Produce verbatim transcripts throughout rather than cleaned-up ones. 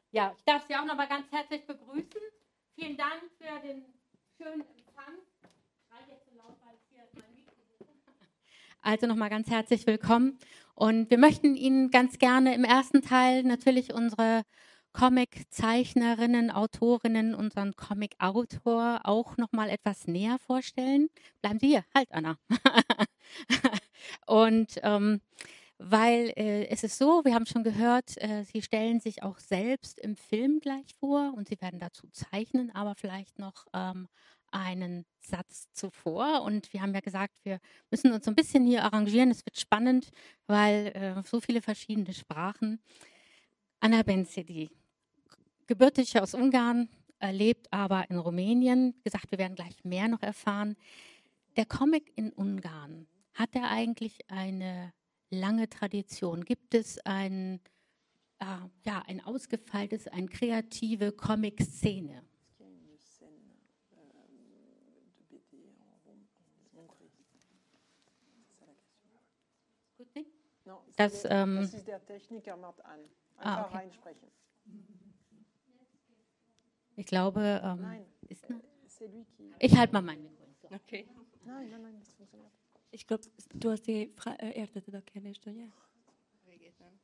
Ja, ich darf Sie auch noch mal ganz herzlich begrüßen. Vielen Dank für den schönen Empfang. Ich schreibe jetzt so laut, weil ich hier mein Mikro suche. Also noch mal ganz herzlich willkommen. Und wir möchten Ihnen ganz gerne im ersten Teil natürlich unsere Comic-Zeichnerinnen, Autorinnen, unseren Comic-Autor auch noch mal etwas näher vorstellen. Bleiben Sie hier, halt, Anna. Und ähm, weil äh, es ist so, wir haben schon gehört, äh, Sie stellen sich auch selbst im Film gleich vor und Sie werden dazu zeichnen, aber vielleicht noch ähm, einen Satz zuvor. Und wir haben ja gesagt, wir müssen uns so ein bisschen hier arrangieren. Es wird spannend, weil äh, so viele verschiedene Sprachen. Anna Bencedi, gebürtig aus Ungarn, äh, lebt aber in Rumänien. Wie gesagt, wir werden gleich mehr noch erfahren. Der Comic in Ungarn, hat er eigentlich eine lange Tradition? Gibt es ein, äh, ja, ein ausgefeiltes, eine kreative Comic-Szene? Gut nicht? Das, ähm, das ist der Techniker macht an. Einfach ah, okay. reinsprechen. Ich glaube, ähm, Nein, ist, c'est lui qui... ich halte mal mein Mikro. So. Okay. Nein, nein, nein, das funktioniert. Ich glaube, du hast die Fra äh, értetted a kérdést, ugye? Végét nem.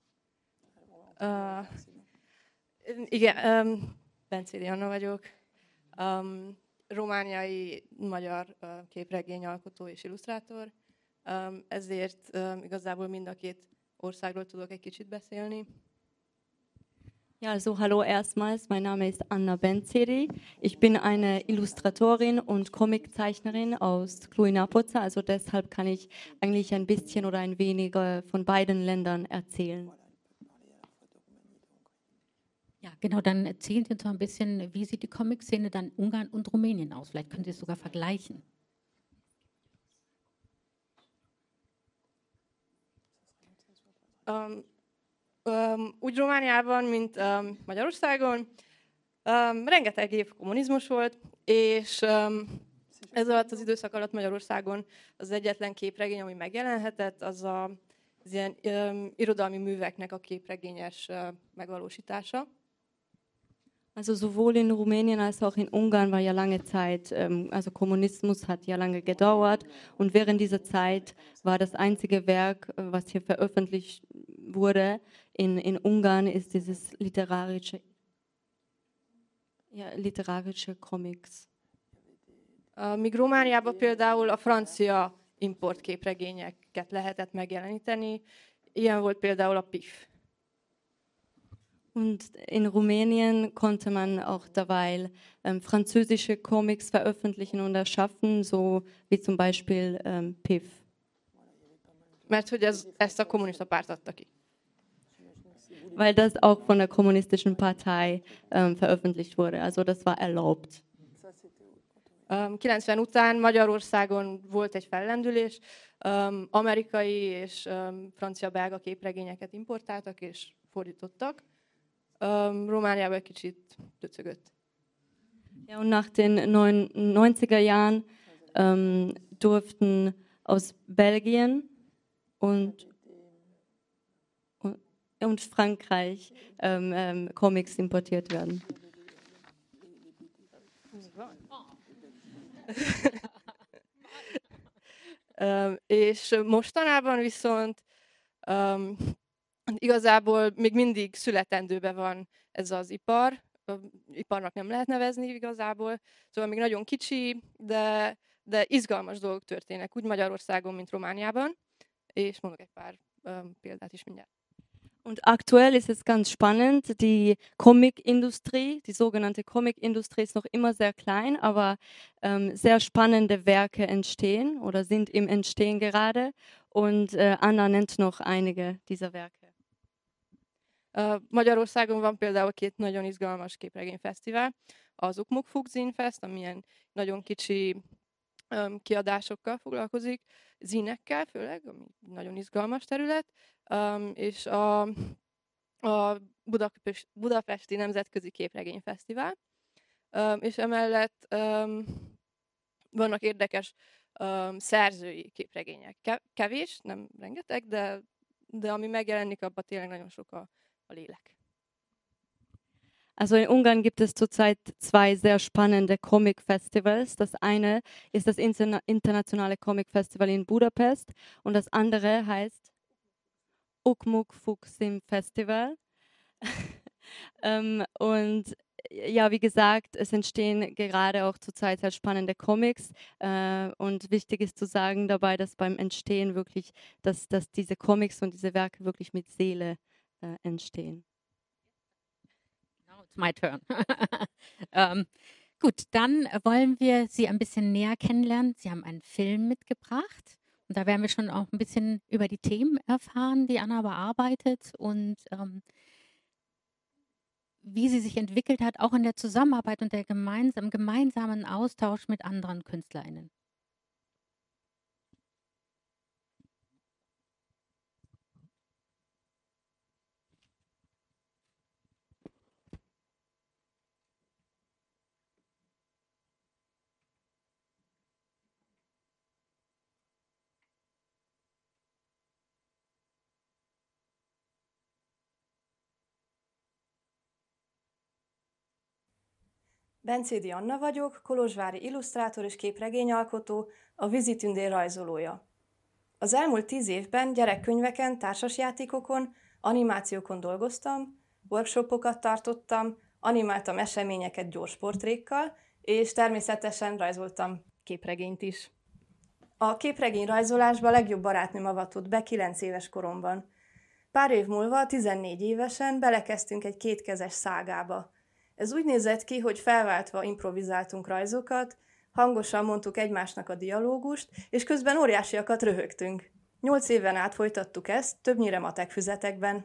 Uh, igen, um, Bencédi Anna vagyok. Um, romániai magyar uh, képregényalkotó és illusztrátor. Um, ezért um, igazából mind a két országról tudok egy kicsit beszélni. Ja, also hallo erstmals, mein Name ist Anna Bencedi. Ich bin eine Illustratorin und Comiczeichnerin aus Cluj-Napoca, also deshalb kann ich eigentlich ein bisschen oder ein wenig von beiden Ländern erzählen. Ja, genau, dann erzählen Sie uns doch ein bisschen, wie sieht die Comic-Szene dann in Ungarn und Rumänien aus? Vielleicht können Sie es sogar vergleichen. Um, um, úgy Romániában, mint um, Magyarországon, um, rengeteg év kommunizmus volt, és um, ez alatt az időszak alatt Magyarországon az egyetlen képregény, ami megjelenhetett, az a, az ilyen um, irodalmi műveknek a képregényes uh, megvalósítása. Also sowohl in Rumänien als auch in Ungarn war ja lange Zeit, ähm, also Kommunismus hat ja lange gedauert und während dieser Zeit war das einzige Werk, was hier veröffentlicht wurde in, in Ungarn, ist dieses literarische, ja, literarische Comics. Uh, míg Romániában például a francia importképregényeket lehetett megjeleníteni, ilyen volt például a pé i ef. Und in Rumänien konnte man auch derweil ähm, französische Comics veröffentlichen und erschaffen, so wie zum Beispiel ähm, P I F. Mert hogy ez, ezt a kommunista párt adta ki. Weil das auch von der kommunistischen Partei ähm, veröffentlicht wurde, also das war erlaubt. Um, kilencven után Magyarországon volt egy fellendülés, um, amerikai és um, francia-belga képregényeket importáltak és fordítottak. Um, Romániában egy kicsit döcögött. Ja, und nach den neunziger Jahren ähm, durften aus Belgien und, und, und Frankreich ähm, ähm, Comics importiert werden. um, és mostanában viszont um, igazából még mindig születendőben van ez az ipar, iparnak nem lehet nevezni igazából, szóval még nagyon kicsi, de, de izgalmas dolgok történnek, úgy Magyarországon, mint Romániában, és mondok egy pár um, példát is mindjárt. Und aktuell ist es ganz spannend, die Comicindustrie, die sogenannte Comicindustrie ist noch immer sehr klein, aber ähm, sehr spannende Werke entstehen oder sind im Entstehen gerade und äh, Anna nennt noch einige dieser Werke. Uh, Magyarországon van például két nagyon izgalmas képregényfesztivál, az Ukmuk Zínfest, ami ilyen nagyon kicsi um, kiadásokkal foglalkozik, zínekkel főleg, ami nagyon izgalmas terület, um, és a, a Budapest, Budapesti Nemzetközi Képregényfesztivál, um, és emellett um, vannak érdekes um, szerzői képregények. Kevés, nem rengeteg, de, de ami megjelenik, abban tényleg nagyon sok a, a lélek. Also in Ungarn gibt es zurzeit zwei sehr spannende Comic-Festivals. Das eine ist das Interna Internationale Comic-Festival in Budapest und das andere heißt Ukmuk Fuksim Festival. ähm, und ja, wie gesagt, es entstehen gerade auch zurzeit sehr spannende Comics äh, und wichtig ist zu sagen dabei, dass beim Entstehen wirklich, dass, dass diese Comics und diese Werke wirklich mit Seele äh, entstehen. Now it's my turn. ähm, gut, dann wollen wir Sie ein bisschen näher kennenlernen. Sie haben einen Film mitgebracht und da werden wir schon auch ein bisschen über die Themen erfahren, die Anna bearbeitet und ähm, wie sie sich entwickelt hat, auch in der Zusammenarbeit und der gemeinsam, gemeinsamen Austausch mit anderen KünstlerInnen. Bencédi Anna vagyok, kolozsvári illusztrátor és képregényalkotó, a Vízitündér rajzolója. Az elmúlt tíz évben gyerekkönyveken, társasjátékokon, animációkon dolgoztam, workshopokat tartottam, animáltam eseményeket gyors portrékkal, és természetesen rajzoltam képregényt is. A képregény rajzolásba legjobb barátnőm avatott be kilenc éves koromban. Pár év múlva, tizennégy évesen belekezdtünk egy kétkezes szágába. Ez úgy nézett ki, hogy felváltva improvizáltunk rajzokat, hangosan mondtuk egymásnak a dialógust, és közben óriásiakat röhögtünk. Nyolc éven át folytattuk ezt, többnyire matek füzetekben.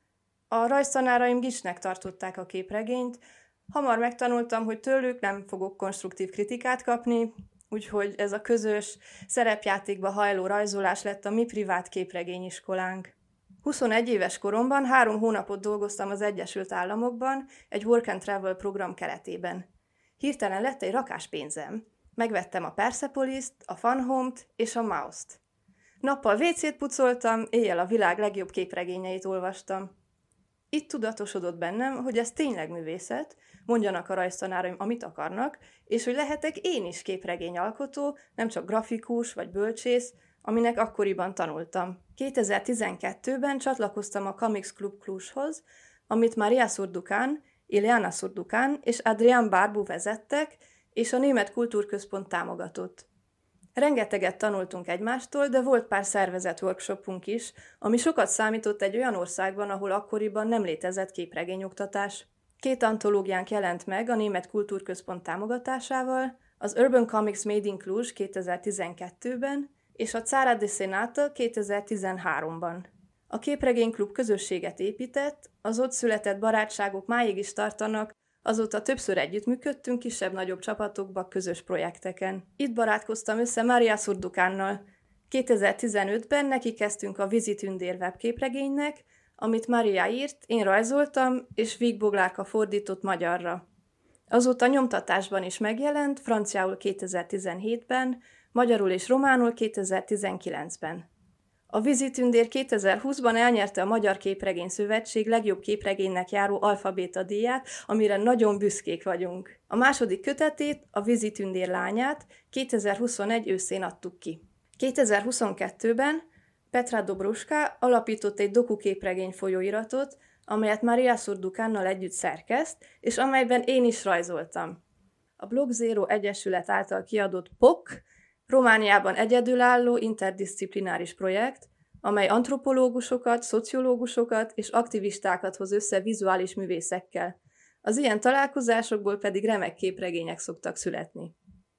A rajztanáraim gicsnek tartották a képregényt, hamar megtanultam, hogy tőlük nem fogok konstruktív kritikát kapni, úgyhogy ez a közös, szerepjátékba hajló rajzolás lett a mi privát képregényiskolánk. huszonegy éves koromban három hónapot dolgoztam az Egyesült Államokban egy Work and Travel program keretében. Hirtelen lett egy rakás pénzem. Megvettem a Persepolis-t, a Fun Home-t és a Mouse-t. Nappal vécét pucoltam, éjjel a világ legjobb képregényeit olvastam. Itt tudatosodott bennem, hogy ez tényleg művészet, mondjanak a rajztanáraim, amit akarnak, és hogy lehetek én is képregényalkotó, nem csak grafikus vagy bölcsész, aminek akkoriban tanultam. kétezer-tizenkettőben csatlakoztam a Comics Club Clujhoz, amit Maria Surducan, Ileana Surducan és Adrián Barbu vezettek, és a Német Kultúrközpont támogatott. Rengeteget tanultunk egymástól, de volt pár szervezett workshopunk is, ami sokat számított egy olyan országban, ahol akkoriban nem létezett képregényoktatás. Két antológiánk jelent meg a Német Kultúrközpont támogatásával, az Urban Comics Made in Cluj kétezer-tizenkettőben, és a Țara Desenată kétezer-tizenháromban. A Képregényklub közösséget épített, az ott született barátságok máig is tartanak, azóta többször együttműködtünk kisebb-nagyobb csapatokba, közös projekteken. Itt barátkoztam össze Maria Surducánnal. kétezer-tizenötben neki kezdtünk a Vízitündér webképregénynek, amit Maria írt, én rajzoltam, és Vig Boglárka fordított magyarra. Azóta nyomtatásban is megjelent, franciául kétezer-tizenhétben, magyarul és románul kétezer-tizenkilencben. A Vízitündér kétezer-húszban elnyerte a Magyar Képregény Szövetség legjobb képregénynek járó alfabéta díját, amire nagyon büszkék vagyunk. A második kötetét, a Vízitündér lányát kétezer-huszonegy őszén adtuk ki. kétezer-huszonkettőben Petra Dobruska alapított egy dokuképregény folyóiratot, amelyet Maria Surducánnal együtt szerkeszt, és amelyben én is rajzoltam. A Blog Zero Egyesület által kiadott pé o ká Romániában egyedülálló interdisziplináris projekt, amely antropológusokat, szociológusokat és aktivistákat hoz össze vizuális művészekkel. Az ilyen találkozásokból pedig remek képregények szoktak születni.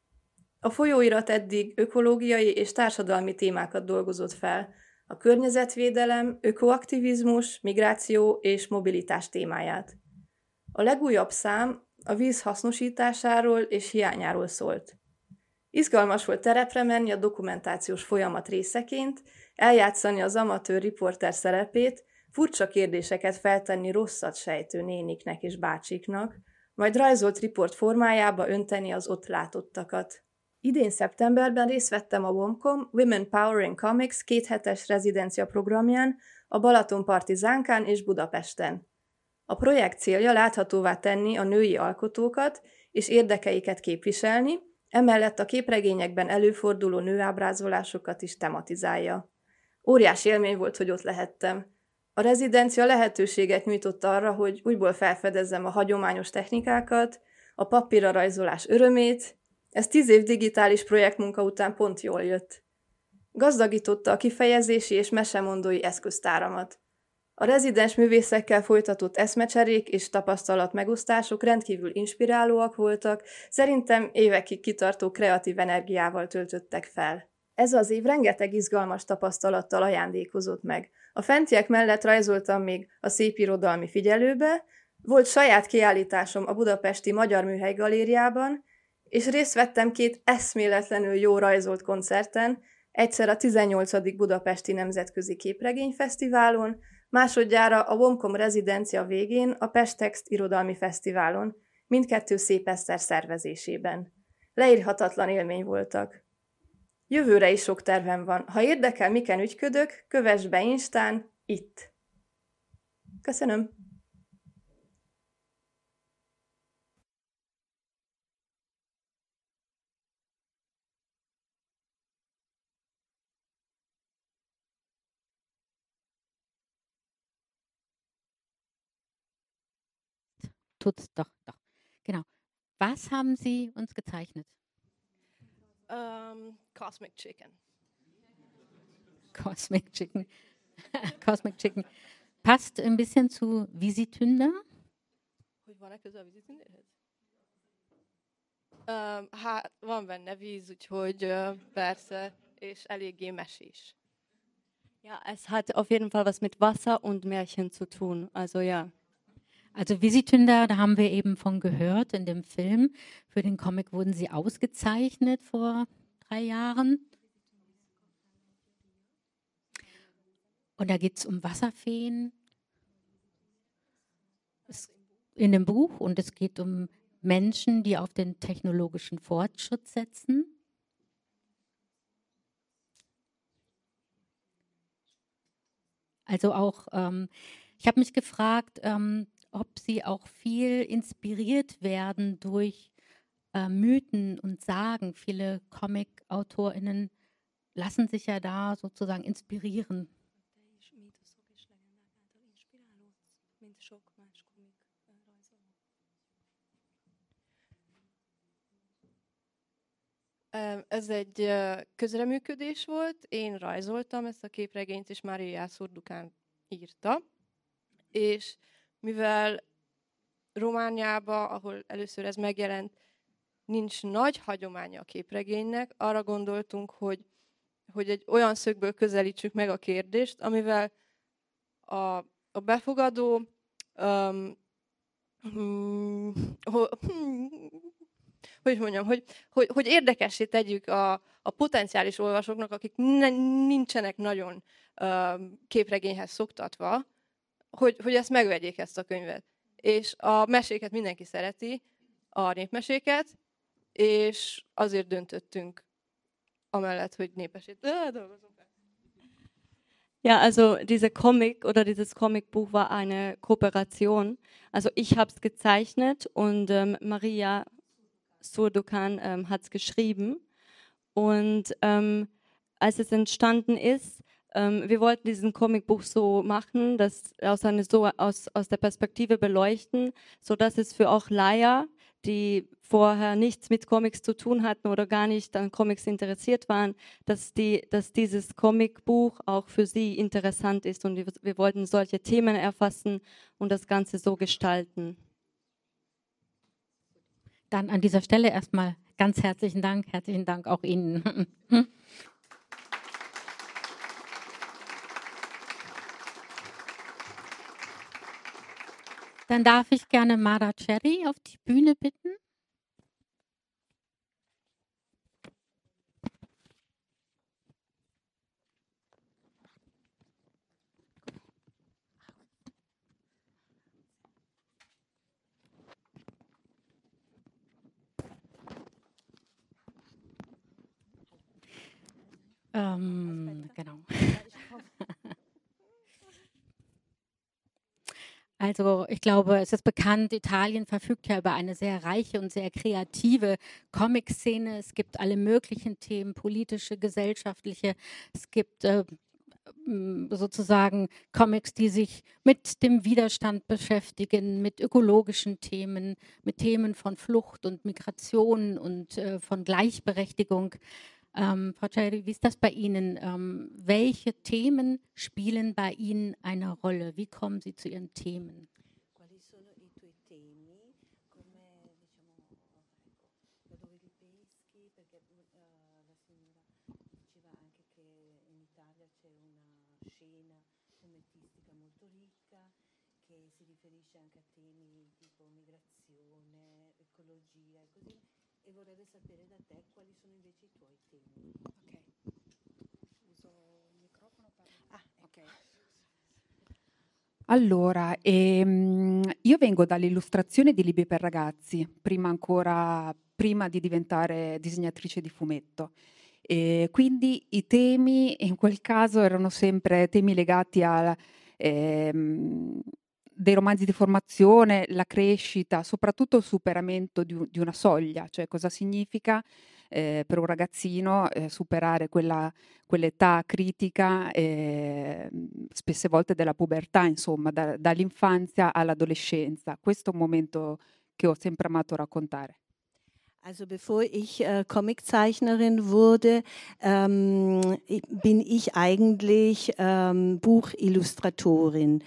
A folyóirat eddig ökológiai és társadalmi témákat dolgozott fel, a környezetvédelem, ökoaktivizmus, migráció és mobilitás témáját. A legújabb szám a víz hasznosításáról és hiányáról szólt. Izgalmas volt terepre menni a dokumentációs folyamat részeként, eljátszani az amatőr riporter szerepét, furcsa kérdéseket feltenni rosszat sejtő néniknek és bácsiknak, majd rajzolt riport formájába önteni az ott látottakat. Idén szeptemberben részt vettem a WOMCOM Women Powering Comics kéthetes rezidencia programján a Balatonparti Zánkán és Budapesten. A projekt célja láthatóvá tenni a női alkotókat és érdekeiket képviselni, emellett a képregényekben előforduló nőábrázolásokat is tematizálja. Óriási élmény volt, hogy ott lehettem. A rezidencia lehetőséget nyújtott arra, hogy újból felfedezzem a hagyományos technikákat, a papírra rajzolás örömét. Ez tíz év digitális projektmunka után pont jól jött. Gazdagította a kifejezési és mesemondói eszköztáramat. A rezidens művészekkel folytatott eszmecserék és tapasztalat megosztások rendkívül inspirálóak voltak, szerintem évekig kitartó kreatív energiával töltöttek fel. Ez az év rengeteg izgalmas tapasztalattal ajándékozott meg. A fentiek mellett rajzoltam még a Szépirodalmi Figyelőbe, volt saját kiállításom a budapesti Magyar Műhely Galériában, és részt vettem két eszméletlenül jó rajzolt koncerten, egyszer a tizennyolcadik Budapesti Nemzetközi Képregényfesztiválon, másodjára a Womcom rezidencia végén a Pestext Irodalmi Fesztiválon, mindkettő Szép Eszter szervezésében. Leírhatatlan élmény voltak. Jövőre is sok tervem van. Ha érdekel, miken ügyködök, kövess be Instán, itt. Köszönöm. Tut's doch, doch. Genau. Was haben Sie uns gezeichnet? Um, Cosmic Chicken. Cosmic Chicken. Cosmic Chicken. Passt ein bisschen zu Visitünder. Hogy van-e köze a vízitündérhez? Um, hát van benne víz, úgyhogy uh, persze, és eléggé mesés. Ja, es hat auf jeden Fall was mit Wasser und Märchen zu tun. Also ja. Also Visitünder, da haben wir eben von gehört in dem Film. Für den Comic wurden sie ausgezeichnet vor drei Jahren. Und da geht es um Wasserfeen es, in dem Buch. Und es geht um Menschen, die auf den technologischen Fortschritt setzen. Also auch, ähm, ich habe mich gefragt, ähm, ob sie auch viel inspiriert werden durch äh, Mythen und Sagen. Viele Comic-AutorInnen lassen sich ja da sozusagen inspirieren. Ez egy közreműködés volt, én rajzoltam ezt a képregényt, és Mária Szurdukán írta, és mivel Romániában, ahol először ez megjelent, nincs nagy hagyománya a képregénynek, arra gondoltunk, hogy, hogy egy olyan szögből közelítsük meg a kérdést, amivel a, a befogadó um, hmm, ho, hmm, hogy mondjam, hogy, hogy, hogy érdekessé tegyük a, a potenciális olvasóknak, akik ne, nincsenek nagyon um, képregényhez szoktatva, hogy, hogy ezt megvegyék, ezt a könyvet. És a meséket mindenki szereti, a népmeséket, és azért döntöttünk amellett, hogy népesét. Ja, also diese Comic oder dieses Comicbuch war eine Kooperation. Also ich habe es gezeichnet und ähm, Maria Szurdukán ähm, hat es geschrieben. Und ähm, als es entstanden ist, ähm, wir wollten diesen Comicbuch so machen, das aus, eine, so aus, aus der Perspektive beleuchten, sodass es für auch Laien, die vorher nichts mit Comics zu tun hatten oder gar nicht an Comics interessiert waren, dass, die, dass dieses Comicbuch auch für sie interessant ist. Und wir, wir wollten solche Themen erfassen und das Ganze so gestalten. Dann an dieser Stelle erstmal ganz herzlichen Dank. Herzlichen Dank auch Ihnen. Dann darf ich gerne Mara Cherry auf die Bühne bitten. Ähm, genau. Also ich glaube, es ist bekannt, Italien verfügt ja über eine sehr reiche und sehr kreative Comic-Szene. Es gibt alle möglichen Themen, politische, gesellschaftliche. Es gibt äh, m, sozusagen Comics, die sich mit dem Widerstand beschäftigen, mit ökologischen Themen, mit Themen von Flucht und Migration und äh, von Gleichberechtigung. Ähm, Frau Ceri, wie ist das bei Ihnen? Ähm, welche Themen spielen bei Ihnen eine Rolle? Wie kommen Sie zu Ihren Themen? Quali sono i tuoi temi? Come diciamo, ecco, da dove li peschi? Perché eh, la signora diceva anche che in Italia c'è una scena fumettistica molto ricca che si riferisce anche a temi tipo migrazione, ecologia e così. E vorrei sapere da te quali sono invece i tuoi temi. Ok. Uso il microfono per... Ah, ok. Allora, ehm, io vengo dall'illustrazione di libri per ragazzi, prima ancora, prima di diventare disegnatrice di fumetto. E quindi i temi in quel caso erano sempre temi legati a ehm, dei romanzi di formazione, la crescita, soprattutto il superamento di, un- di una soglia, cioè cosa significa eh, per un ragazzino eh, superare quella, quell'età critica, eh, spesse volte della pubertà, insomma, da- dall'infanzia all'adolescenza. Questo è un momento che ho sempre amato raccontare. Also bevor ich äh, Comiczeichnerin wurde, ähm, i- bin ich eigentlich ähm, Buchillustratorin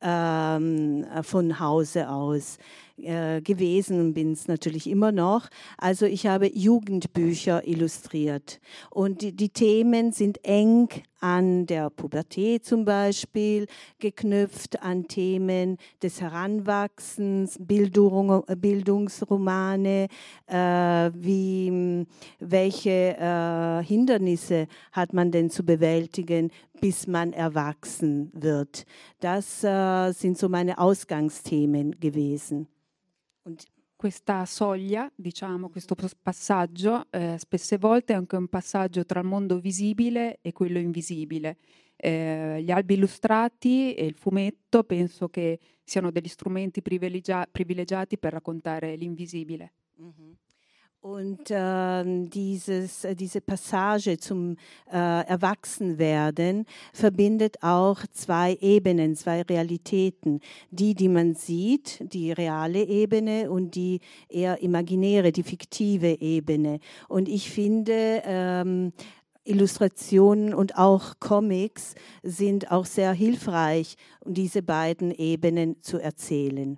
ähm, äh, von Hause aus äh, gewesen und bin es natürlich immer noch. Also ich habe Jugendbücher illustriert und die, die Themen sind eng an der Pubertät zum Beispiel geknüpft, an Themen des Heranwachsens, Bildung, Bildungsromane, äh, wie, m, welche äh, Hindernisse hat man denn zu bewältigen, bis man erwachsen wird. Das äh, sind so meine Ausgangsthemen gewesen. Und Questa soglia, diciamo, questo pos- passaggio, eh, spesse volte è anche un passaggio tra il mondo visibile e quello invisibile. Eh, gli albi illustrati e il fumetto penso che siano degli strumenti privilegia- privilegiati per raccontare l'invisibile. Mhm. Und ähm, dieses, äh, diese Passage zum äh, Erwachsenwerden verbindet auch zwei Ebenen, zwei Realitäten. Die, die man sieht, die reale Ebene und die eher imaginäre, die fiktive Ebene. Und ich finde, ähm, Illustrationen und auch Comics sind auch sehr hilfreich, um diese beiden Ebenen zu erzählen.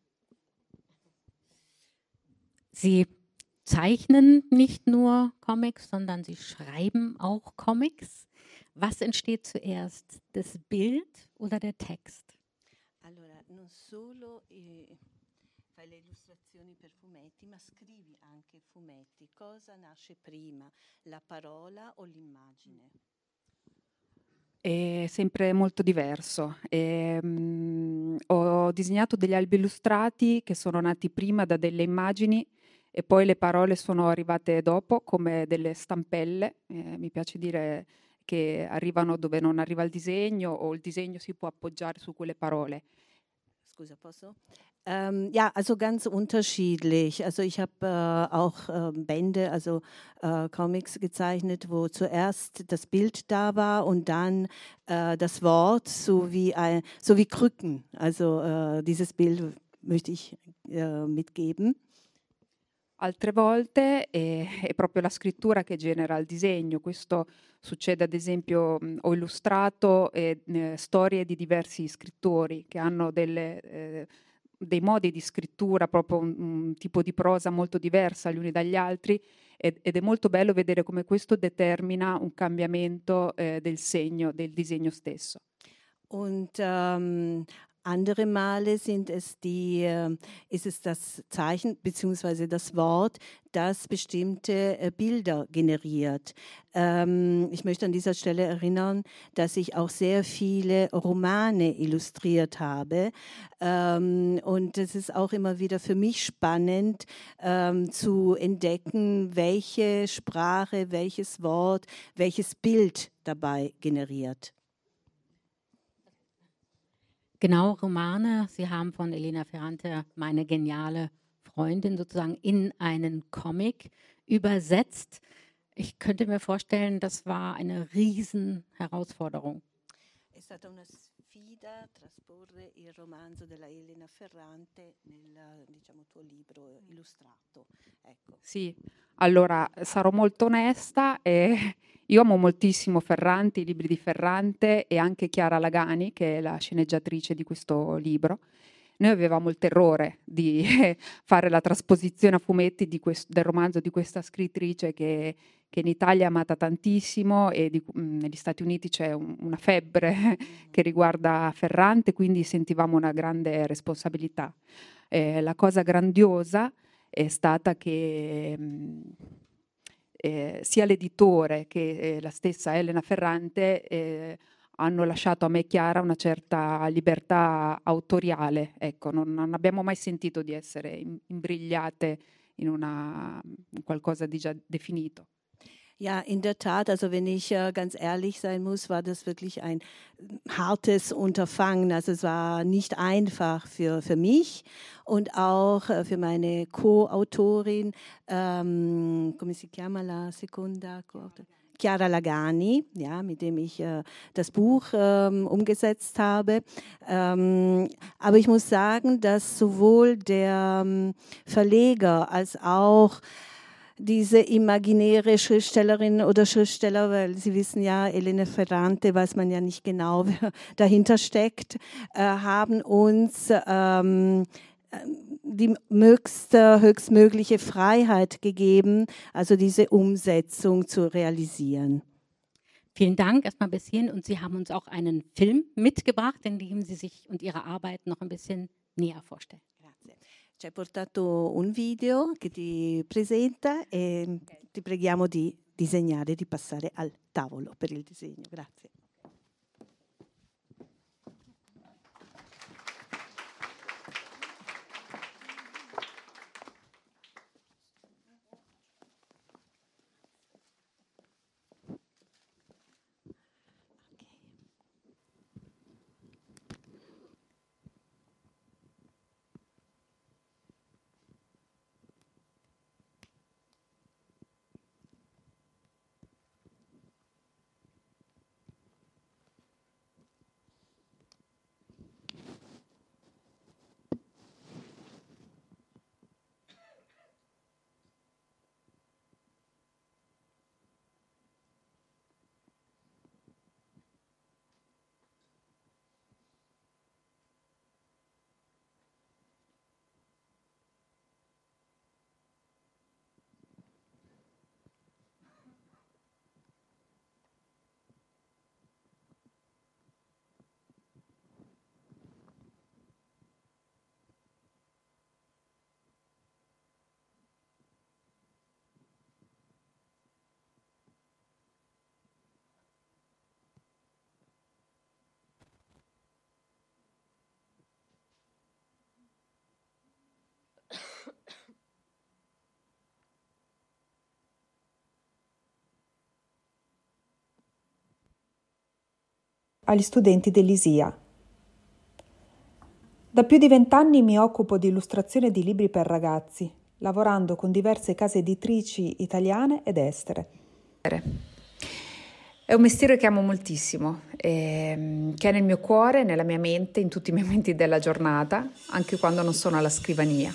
Sie zeichnen nicht nur Comics, sondern Sie schreiben auch Comics. Was entsteht zuerst, das Bild oder der Text? Allora, non solo eh, fai le illustrazioni per fumetti, ma scrivi anche fumetti. Cosa nasce prima, la parola o l'immagine? È sempre molto diverso. Ehm, ho disegnato degli albi illustrati che sono nati prima da delle immagini e poi le parole sono arrivate dopo come delle stampelle. Eh, mi piace dire che arrivano dove non arriva il disegno o il disegno si può appoggiare su quelle parole. Scusa, posso? Ähm, ja, also ganz unterschiedlich. Also ich habe äh, auch äh, Bände, also äh, Comics gezeichnet, wo zuerst das Bild da war und dann äh, das Wort, so wie, ein, so wie Krücken. Also äh, dieses Bild möchte ich äh, mitgeben. Altre volte è, è proprio la scrittura che genera il disegno. Questo succede, ad esempio, mh, ho illustrato eh, eh, storie di diversi scrittori che hanno delle, eh, dei modi di scrittura, proprio un, un tipo di prosa molto diversa gli uni dagli altri ed, ed è molto bello vedere come questo determina un cambiamento eh, del segno, del disegno stesso. Und ähm, andere Male sind es die, äh, ist es das Zeichen bzw. das Wort, das bestimmte äh, Bilder generiert. Ähm, ich möchte an dieser Stelle erinnern, dass ich auch sehr viele Romane illustriert habe. Ähm, und es ist auch immer wieder für mich spannend ähm, zu entdecken, welche Sprache, welches Wort, welches Bild dabei generiert. Genau, Romane. Sie haben von Elena Ferrante, meine geniale Freundin, sozusagen in einen Comic übersetzt. Ich könnte mir vorstellen, das war eine Riesenherausforderung. È stata una sfida trasporre il romanzo della Elena Ferrante nel, diciamo, tuo libro illustrato. Ecco. Sì, allora sarò molto onesta, eh, io amo moltissimo Ferrante, i libri di Ferrante e anche Chiara Lagani, che è la sceneggiatrice di questo libro. Noi avevamo il terrore di fare la trasposizione a fumetti di quest- del romanzo di questa scrittrice che, che in Italia è amata tantissimo e di- mh, negli Stati Uniti c'è un- una febbre che riguarda Ferrante, quindi sentivamo una grande responsabilità. Eh, la cosa grandiosa è stata che mh, eh, sia l'editore che eh, la stessa Elena Ferrante eh, hanno lasciato a me e Chiara una certa libertà autoriale. Ecco, non, non abbiamo mai sentito di essere im- imbrigliate in, una, in qualcosa di già definito. Ja, in der Tat, also wenn ich äh, ganz ehrlich sein muss, war das wirklich ein hartes Unterfangen. Also es war nicht einfach für, für mich und auch äh, für meine Co-Autorin, ähm, come si chiama la seconda Co-Autorin? Chiara Lagani, ja, mit dem ich äh, das Buch ähm, umgesetzt habe. Ähm, aber ich muss sagen, dass sowohl der ähm, Verleger als auch diese imaginäre Schriftstellerin oder Schriftsteller, weil Sie wissen ja, Elena Ferrante, weiß man ja nicht genau, wer dahinter steckt, äh, haben uns ähm, die höchste, höchstmögliche Freiheit gegeben, also diese Umsetzung zu realisieren. Vielen Dank erstmal bis hierhin und Sie haben uns auch einen Film mitgebracht, in dem Sie sich und Ihre Arbeit noch ein bisschen näher vorstellen. Grazie. Ci hai portato un video che ti presenta e ti preghiamo di disegnare, di passare al tavolo per il disegno. Grazie. Agli studenti dell'I S I A. Da più di vent'anni mi occupo di illustrazione di libri per ragazzi, lavorando con diverse case editrici italiane ed estere. È un mestiere che amo moltissimo, ehm, che è nel mio cuore, nella mia mente, in tutti i momenti della giornata, anche quando non sono alla scrivania.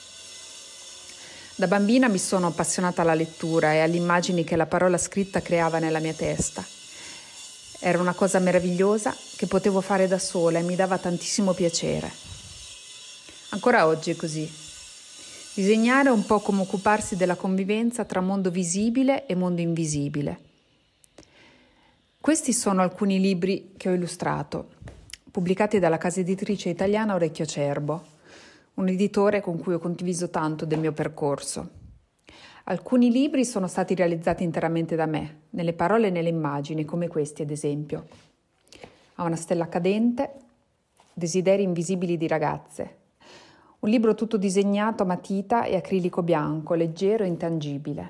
Da bambina mi sono appassionata alla lettura e alle immagini che la parola scritta creava nella mia testa. Era una cosa meravigliosa che potevo fare da sola e mi dava tantissimo piacere. Ancora oggi è così. Disegnare è un po' come occuparsi della convivenza tra mondo visibile e mondo invisibile. Questi sono alcuni libri che ho illustrato, pubblicati dalla casa editrice italiana Orecchio Acerbo, un editore con cui ho condiviso tanto del mio percorso. Alcuni libri sono stati realizzati interamente da me, nelle parole e nelle immagini, come questi ad esempio. A una stella cadente, Desideri invisibili di ragazze. Un libro tutto disegnato a matita e acrilico bianco, leggero e intangibile.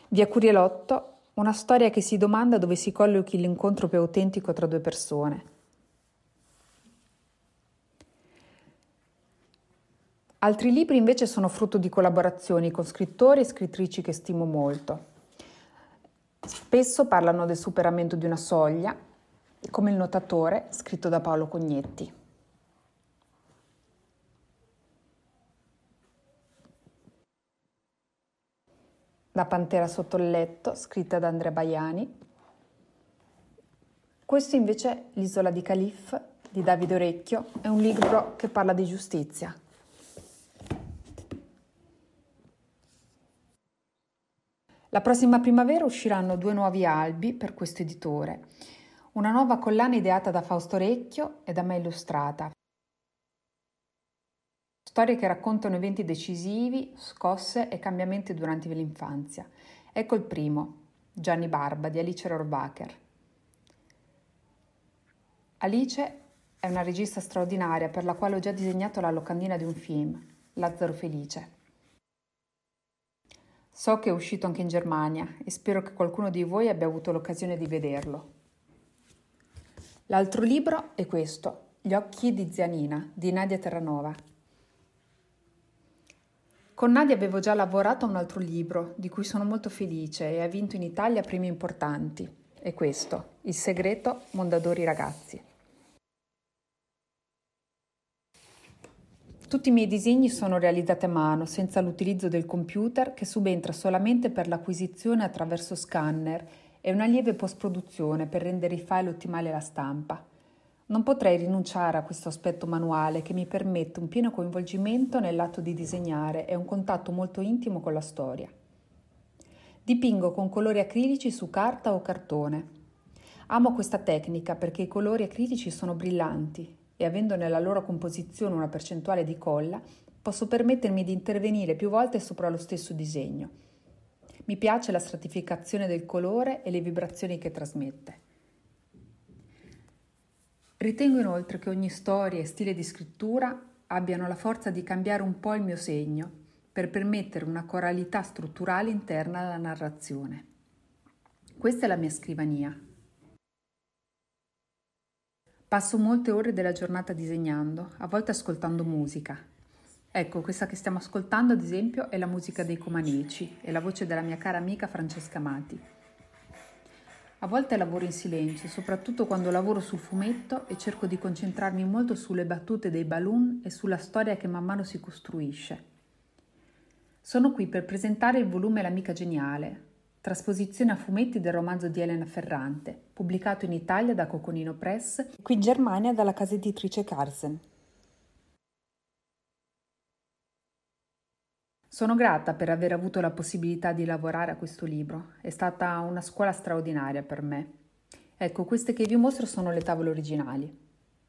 Via Curielotto, una storia che si domanda dove si collochi l'incontro più autentico tra due persone. Altri libri invece sono frutto di collaborazioni con scrittori e scrittrici che stimo molto. Spesso parlano del superamento di una soglia, come Il Notatore, scritto da Paolo Cognetti. La Pantera sotto il letto, scritta da Andrea Baiani. Questo invece è L'isola di Calif, di Davide Orecchio, è un libro che parla di giustizia. La prossima primavera usciranno due nuovi albi per questo editore, una nuova collana ideata da Fausto Orecchio e da me illustrata. Storie che raccontano eventi decisivi, scosse e cambiamenti durante l'infanzia. Ecco il primo, Gianni Barba di Alice Rohrwacher. Alice è una regista straordinaria per la quale ho già disegnato la locandina di un film, Lazzaro Felice. So che è uscito anche in Germania e spero che qualcuno di voi abbia avuto l'occasione di vederlo. L'altro libro è questo, Gli occhi di zia Nina, di Nadia Terranova. Con Nadia avevo già lavorato a un altro libro, di cui sono molto felice e ha vinto in Italia premi importanti. È questo, Il segreto Mondadori ragazzi. Tutti i miei disegni sono realizzati a mano, senza l'utilizzo del computer, che subentra solamente per l'acquisizione attraverso scanner e una lieve post-produzione per rendere i file ottimali alla stampa. Non potrei rinunciare a questo aspetto manuale che mi permette un pieno coinvolgimento nell'atto di disegnare e un contatto molto intimo con la storia. Dipingo con colori acrilici su carta o cartone. Amo questa tecnica perché i colori acrilici sono brillanti e avendo nella loro composizione una percentuale di colla, posso permettermi di intervenire più volte sopra lo stesso disegno. Mi piace la stratificazione del colore e le vibrazioni che trasmette. Ritengo inoltre che ogni storia e stile di scrittura abbiano la forza di cambiare un po' il mio segno per permettere una coralità strutturale interna alla narrazione. Questa è la mia scrivania. Passo molte ore della giornata disegnando, a volte ascoltando musica. Ecco, questa che stiamo ascoltando, ad esempio, è la musica dei Comaneci e la voce della mia cara amica Francesca Amati. A volte lavoro in silenzio, soprattutto quando lavoro sul fumetto e cerco di concentrarmi molto sulle battute dei balloon e sulla storia che man mano si costruisce. Sono qui per presentare il volume L'amica geniale, trasposizione a fumetti del romanzo di Elena Ferrante, pubblicato in Italia da Coconino Press, qui in Germania dalla casa editrice Carlsen. Sono grata per aver avuto la possibilità di lavorare a questo libro, è stata una scuola straordinaria per me. Ecco, queste che vi mostro sono le tavole originali.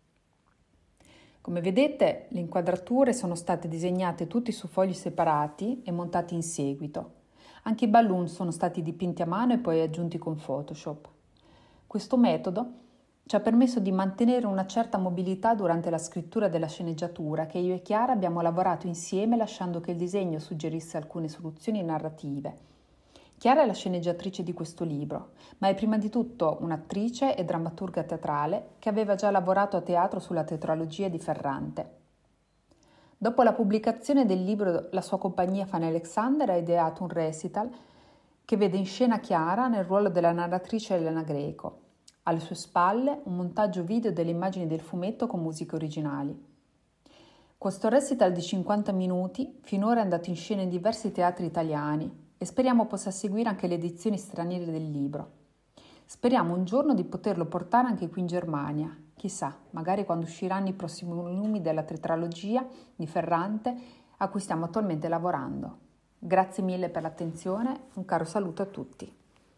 Come vedete, le inquadrature sono state disegnate tutti su fogli separati e montati in seguito. Anche i balloon sono stati dipinti a mano e poi aggiunti con Photoshop. Questo metodo ci ha permesso di mantenere una certa mobilità durante la scrittura della sceneggiatura che io e Chiara abbiamo lavorato insieme lasciando che il disegno suggerisse alcune soluzioni narrative. Chiara è la sceneggiatrice di questo libro, ma è prima di tutto un'attrice e drammaturga teatrale che aveva già lavorato a teatro sulla tetralogia di Ferrante. Dopo la pubblicazione del libro, la sua compagnia Fanny Alexander ha ideato un recital che vede in scena Chiara nel ruolo della narratrice Elena Greco. Alle sue spalle un montaggio video delle immagini del fumetto con musiche originali. Questo recital di cinquanta minuti finora è andato in scena in diversi teatri italiani e speriamo possa seguire anche le edizioni straniere del libro. Speriamo un giorno di poterlo portare anche qui in Germania. Chissà, magari quando usciranno i prossimi volumi della tetralogia di Ferrante a cui stiamo attualmente lavorando. Grazie mille per l'attenzione, un caro saluto a tutti.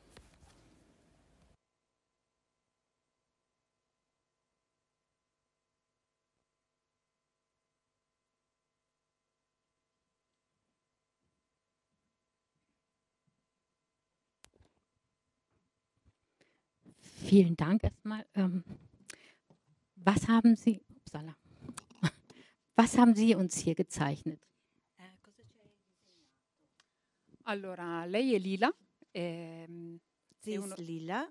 Vielen Dank erstmal. Ähm, was haben Sie, upsala, was haben Sie uns hier gezeichnet? Allora, lei è Lila, Ehm, Sie è, ist uno- lila.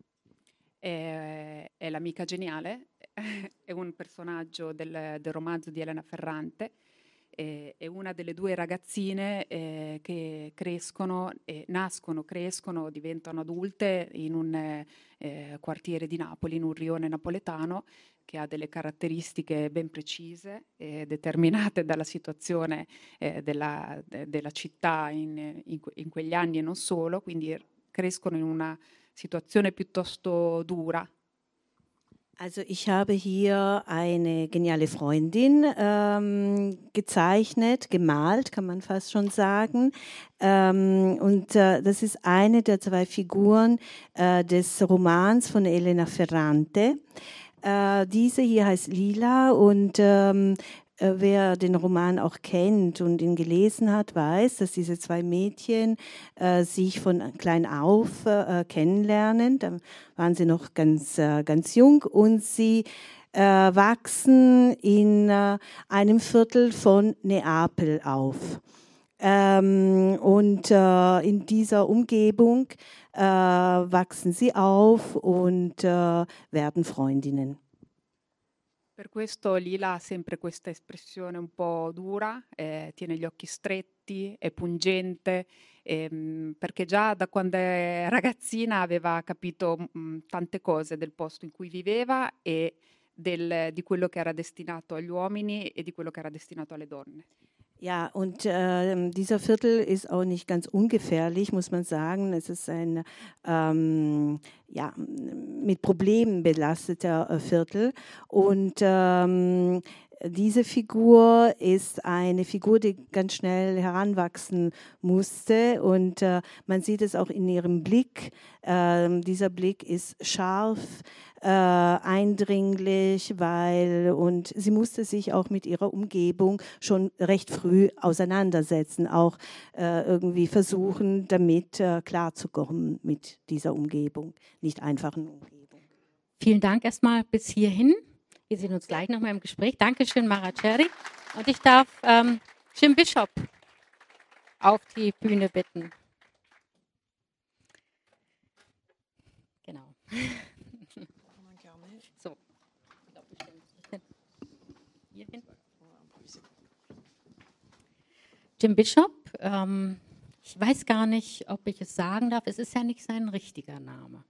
è- è l'amica geniale, è un personaggio del, del romanzo di Elena Ferrante, eh, è una delle due ragazzine eh, che crescono, eh, nascono, crescono, diventano adulte in un eh, eh, quartiere di Napoli, in un rione napoletano, che ha delle caratteristiche ben precise, eh, determinate dalla situazione eh, della, de- della città in, in que- in quegli anni e non solo, quindi crescono in una situazione piuttosto dura. Also ich habe hier eine geniale Freundin ähm, gezeichnet, gemalt, kann man fast schon sagen. Ähm, und äh, das ist eine der zwei Figuren äh, des Romans von Elena Ferrante. Äh, diese hier heißt Lila und ähm, äh, wer den Roman auch kennt und ihn gelesen hat, weiß, dass diese zwei Mädchen äh, sich von klein auf äh, kennenlernen. Da waren sie noch ganz, äh, ganz jung und sie äh, wachsen in äh, einem Viertel von Neapel auf. Ähm, und äh, in dieser Umgebung äh, wachsen sie auf und äh, werden Freundinnen. Per questo Lila ha sempre questa espressione un po' dura, eh, tiene gli occhi stretti, è pungente, ehm, perché già da quando è ragazzina aveva capito mh, tante cose del posto in cui viveva e del, di quello che era destinato agli uomini e di quello che era destinato alle donne. Ja, und äh, dieser Viertel ist auch nicht ganz ungefährlich, muss man sagen. Es ist ein ähm, ja, mit Problemen belasteter äh, Viertel. Und ähm, diese Figur ist eine Figur, die ganz schnell heranwachsen musste. Und äh, man sieht es auch in ihrem Blick. Äh, dieser Blick ist scharf, äh, eindringlich, weil und sie musste sich auch mit ihrer Umgebung schon recht früh auseinandersetzen, auch äh, irgendwie versuchen, damit äh, klarzukommen mit dieser Umgebung, nicht einfachen Umgebung. Vielen Dank erstmal bis hierhin. Wir sehen uns gleich nochmal im Gespräch. Dankeschön, Mara Cherry. Und ich darf ähm, Jim Bishop auf die Bühne bitten. Genau. So. Hierhin. Jim Bishop, ähm, ich weiß gar nicht, ob ich es sagen darf. Es ist ja nicht sein richtiger Name.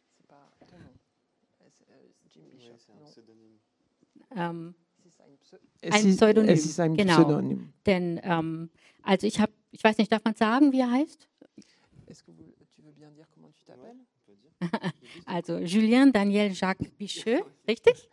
Ähm, Es ein ist, Pseudonym. es ist ein Genau. Pseudonym. Denn, ähm, also ich habe, ich weiß nicht, darf man sagen, wie er heißt? Est-ce que vous- tu veux bien dire comment tu t'appelles? Also Julien Daniel Jacques Bicheux, richtig?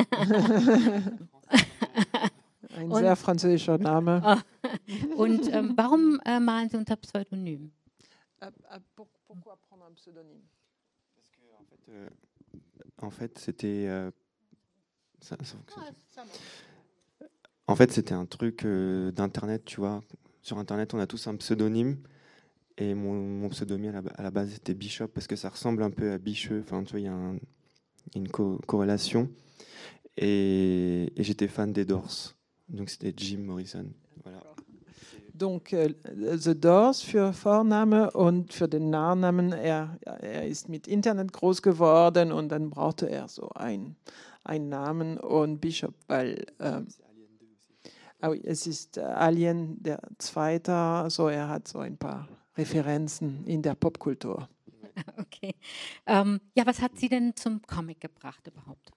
Ein Und- sehr französischer Name. Und ähm, warum äh, malen Sie unter Pseudonym? Euh, euh, pour- pourquoi prendre un pseudonyme? Parce que, en fait, euh, en fait, c'était. euh, ça- ça fonctionne. En fait, c'était un truc euh, d'internet, tu vois. Sur internet, on a tous un pseudonyme. Et mon, mon pseudonyme à la, à la base c'était Bishop parce que ça ressemble un peu à Bicheux. Enfin, tu vois, il y a un- une co- corrélation. Et, et j'étais fan des Doors. Donc c'était Jim Morrison. Voilà. Donc äh, The Doors für Vorname und für den Nachnamen, er, er ist mit Internet groß geworden und dann brauchte er so ein, einen Namen und Bishop, weil ähm, ah oui, es ist äh, Alien der Zweite, so er hat so ein paar Referenzen in der Popkultur. Okay. Ähm, ja, was hat Sie denn zum Comic gebracht überhaupt?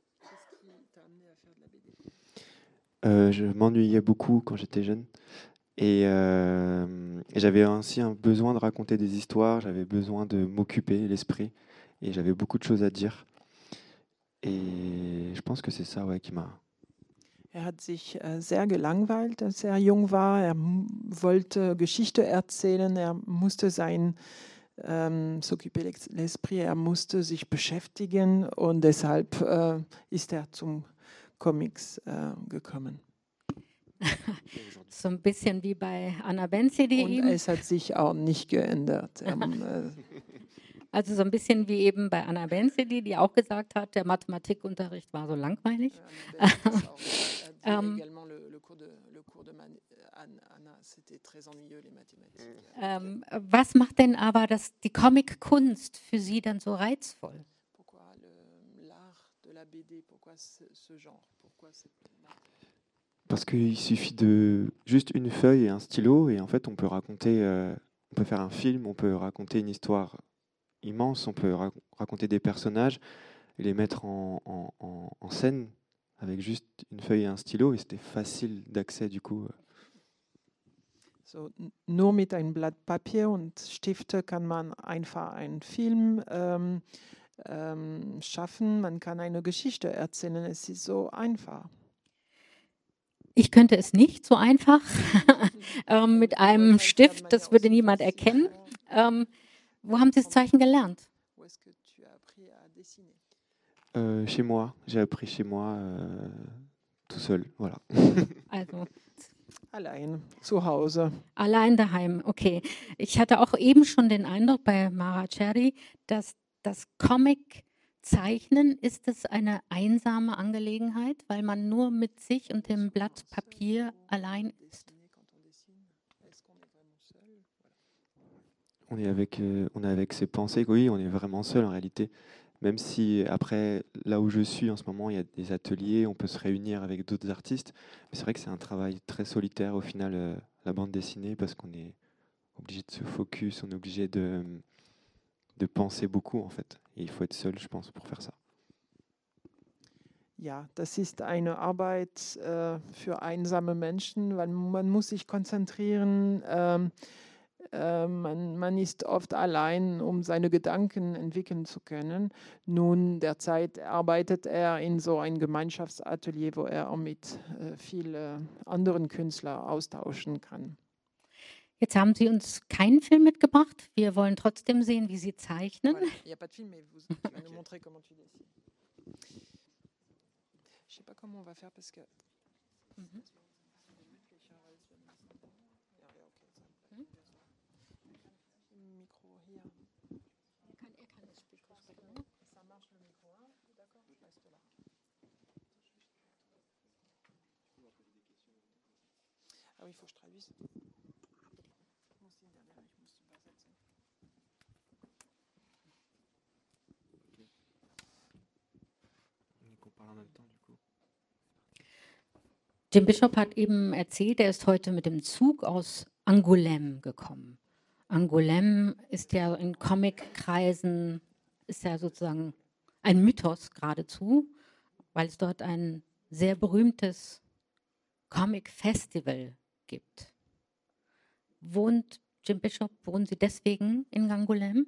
Euh, je m'ennuyais beaucoup quand j'étais jeune. Et, euh, et j'avais ainsi un besoin de raconter des histoires, j'avais besoin de m'occuper l'esprit. Et j'avais beaucoup de choses à dire. Et je pense que c'est ça ouais, qui m'a... Er hat sich äh, sehr gelangweilt, als er jung war. Er m- wollte Geschichte erzählen, er musste sein ähm, s'occuper l'ex- l'esprit, er musste sich beschäftigen und deshalb äh, ist er zum Comics äh, gekommen. So ein bisschen wie bei Anna Benzi, die Und ihm. es hat sich auch nicht geändert. Er, äh, Also so ein bisschen wie eben bei Anna Bensedy, die auch gesagt hat, der Mathematikunterricht war so langweilig. ähm, ähm, was macht denn aber das, die Comic-Kunst für Sie dann so reizvoll? Parce qu'il suffit de juste une feuille et un stylo et en fait on peut raconter, euh, on peut faire un film, on peut raconter une histoire immense, on peut ra- raconter des personnages et les mettre en, en, en, en scène avec juste une feuille et un stylo et c'était facile d'accès du coup. So, nur mit einem Blatt Papier und Stifte kann man einfach einen Film ähm, ähm, schaffen, man kann eine Geschichte erzählen, es ist so einfach. Ich könnte es nicht so einfach ähm, mit einem Stift, das würde niemand erkennen. Ähm, wo haben Sie das Zeichen gelernt? Euh, chez moi, j'ai appris chez moi euh, tout seul, voilà. Also allein zu Hause. Allein daheim, okay. Ich hatte auch eben schon den Eindruck bei Mara Cherry, dass das Comic-Zeichnen, ist es eine einsame Angelegenheit, weil man nur mit sich und dem Blatt Papier allein ist. On est avec, euh, on est avec ses pensées, oui, on est vraiment seul en réalité. Même si après, là où je suis en ce moment, il y a des ateliers, on peut se réunir avec d'autres artistes. Mais c'est vrai que c'est un travail très solitaire au final, euh, la bande dessinée, parce qu'on est obligé de se focus, on est obligé de, de penser beaucoup en fait. Et il faut être seul, je pense, pour faire ça. Ja, das ist eine Arbeit äh, für einsame Menschen, weil man muss sich konzentrieren. Ähm, äh, man, man ist oft allein, um seine Gedanken entwickeln zu können. Nun, derzeit arbeitet er in so einem Gemeinschaftsatelier, wo er auch mit äh, vielen anderen Künstlern austauschen kann. Jetzt haben Sie uns keinen Film mitgebracht. Wir wollen trotzdem sehen, wie Sie zeichnen. Voilà. Il n'y a pas de film, mais vous, je vais vous montrer comment tu dessines. Je ne sais pas comment on va faire parce que. Mhm. Ah oui, il faut que je traduise. Jim Bishop hat eben erzählt, er ist heute mit dem Zug aus Angoulême gekommen. Angoulême ist ja in Comic-Kreisen, ist ja sozusagen ein Mythos geradezu, weil es dort ein sehr berühmtes Comic-Festival gibt. Wohnt Jim Bishop, wohnen Sie deswegen in Angoulême?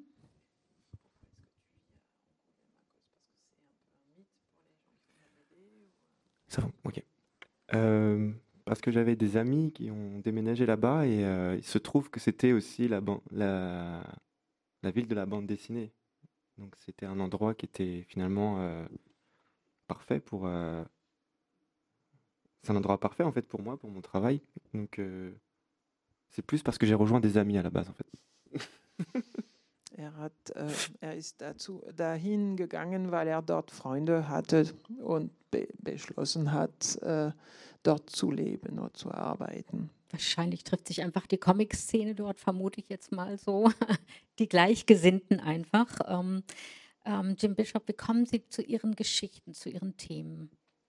Ça va, ok. Euh, parce que j'avais des amis qui ont déménagé là-bas et euh, il se trouve que c'était aussi la, ban- la, la ville de la bande dessinée. Donc c'était un endroit qui était finalement euh, parfait pour... euh, c'est un endroit parfait en fait pour moi, pour mon travail. Donc euh, c'est plus parce que j'ai rejoint des amis à la base en fait. Er, hat, äh, er ist dazu, dahin gegangen, weil er dort Freunde hatte und be beschlossen hat, äh, dort zu leben und zu arbeiten. Wahrscheinlich trifft sich einfach die Comic-Szene dort, vermute ich jetzt mal so. Die Gleichgesinnten einfach. Ähm, ähm, Jim Bishop, wie kommen Sie zu Ihren Geschichten, zu Ihren Themen?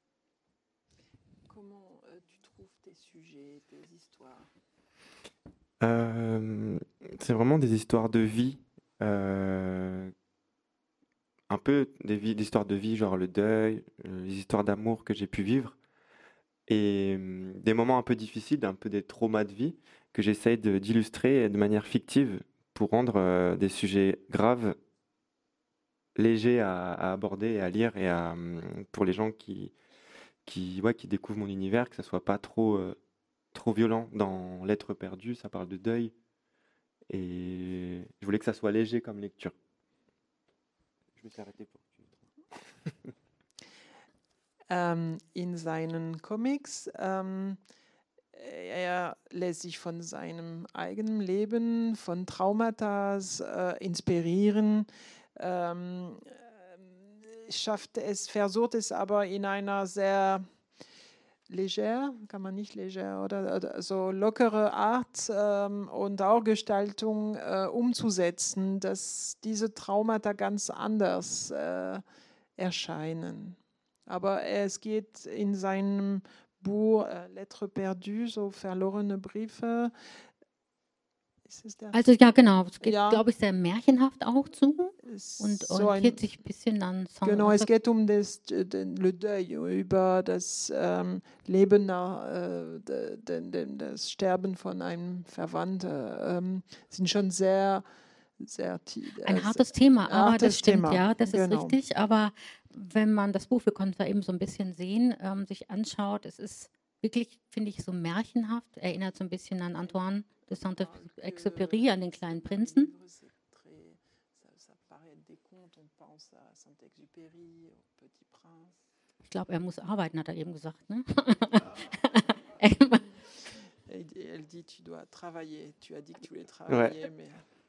Comment euh, tu trouves tes sujets, tes histoires? Euh, c'est vraiment des histoires de vie. Euh, un peu des, vies, des histoires de vie, genre le deuil, euh, les histoires d'amour que j'ai pu vivre. Et euh, des moments un peu difficiles, un peu des traumas de vie que j'essaye de- d'illustrer de manière fictive pour rendre euh, des sujets graves légers à, à aborder et à lire et à, hum, pour les gens qui, qui, ouais, qui découvrent mon univers, que ça soit pas trop, euh, trop violent. Dans L'être perdu, ça parle de deuil et je voulais que ça soit léger comme lecture. Je me suis arrêté pour. Ähm, in seinen Comics ähm, er lässt sich von seinem eigenen Leben, von Traumata äh, inspirieren, ähm, schafft es, versucht es aber in einer sehr leger, kann man nicht leger, oder, oder so lockere Art ähm, und auch Gestaltung äh, umzusetzen, dass diese Traumata ganz anders äh, erscheinen. Aber es geht in seinem Buch äh, Lettres perdues, so verlorene Briefe. Ist es der? Also ja, genau. Es geht, Ja. glaube ich, sehr märchenhaft auch zu Es und ist so orientiert ein, sich ein bisschen an Saint- genau, es geht um das den, le deuil, über das ähm, Leben nach äh, de, de, de, das Sterben von einem Verwandten. Ähm, sind schon sehr, sehr tief. Ein Äh, hartes Thema, aber hartes das stimmt, Thema, ja, das ist genau. richtig. Aber wenn man das Buch, wir konnten es da eben so ein bisschen sehen, ähm, sich anschaut, es ist wirklich, finde ich, so märchenhaft, erinnert so ein bisschen an Antoine de Saint-Exupéry, an den kleinen Prinzen. Ich glaube, er muss arbeiten, hat er eben gesagt, ne? Elle dit, tu dois travailler. Tu as dit que tu voulais travailler, Ouais. mais...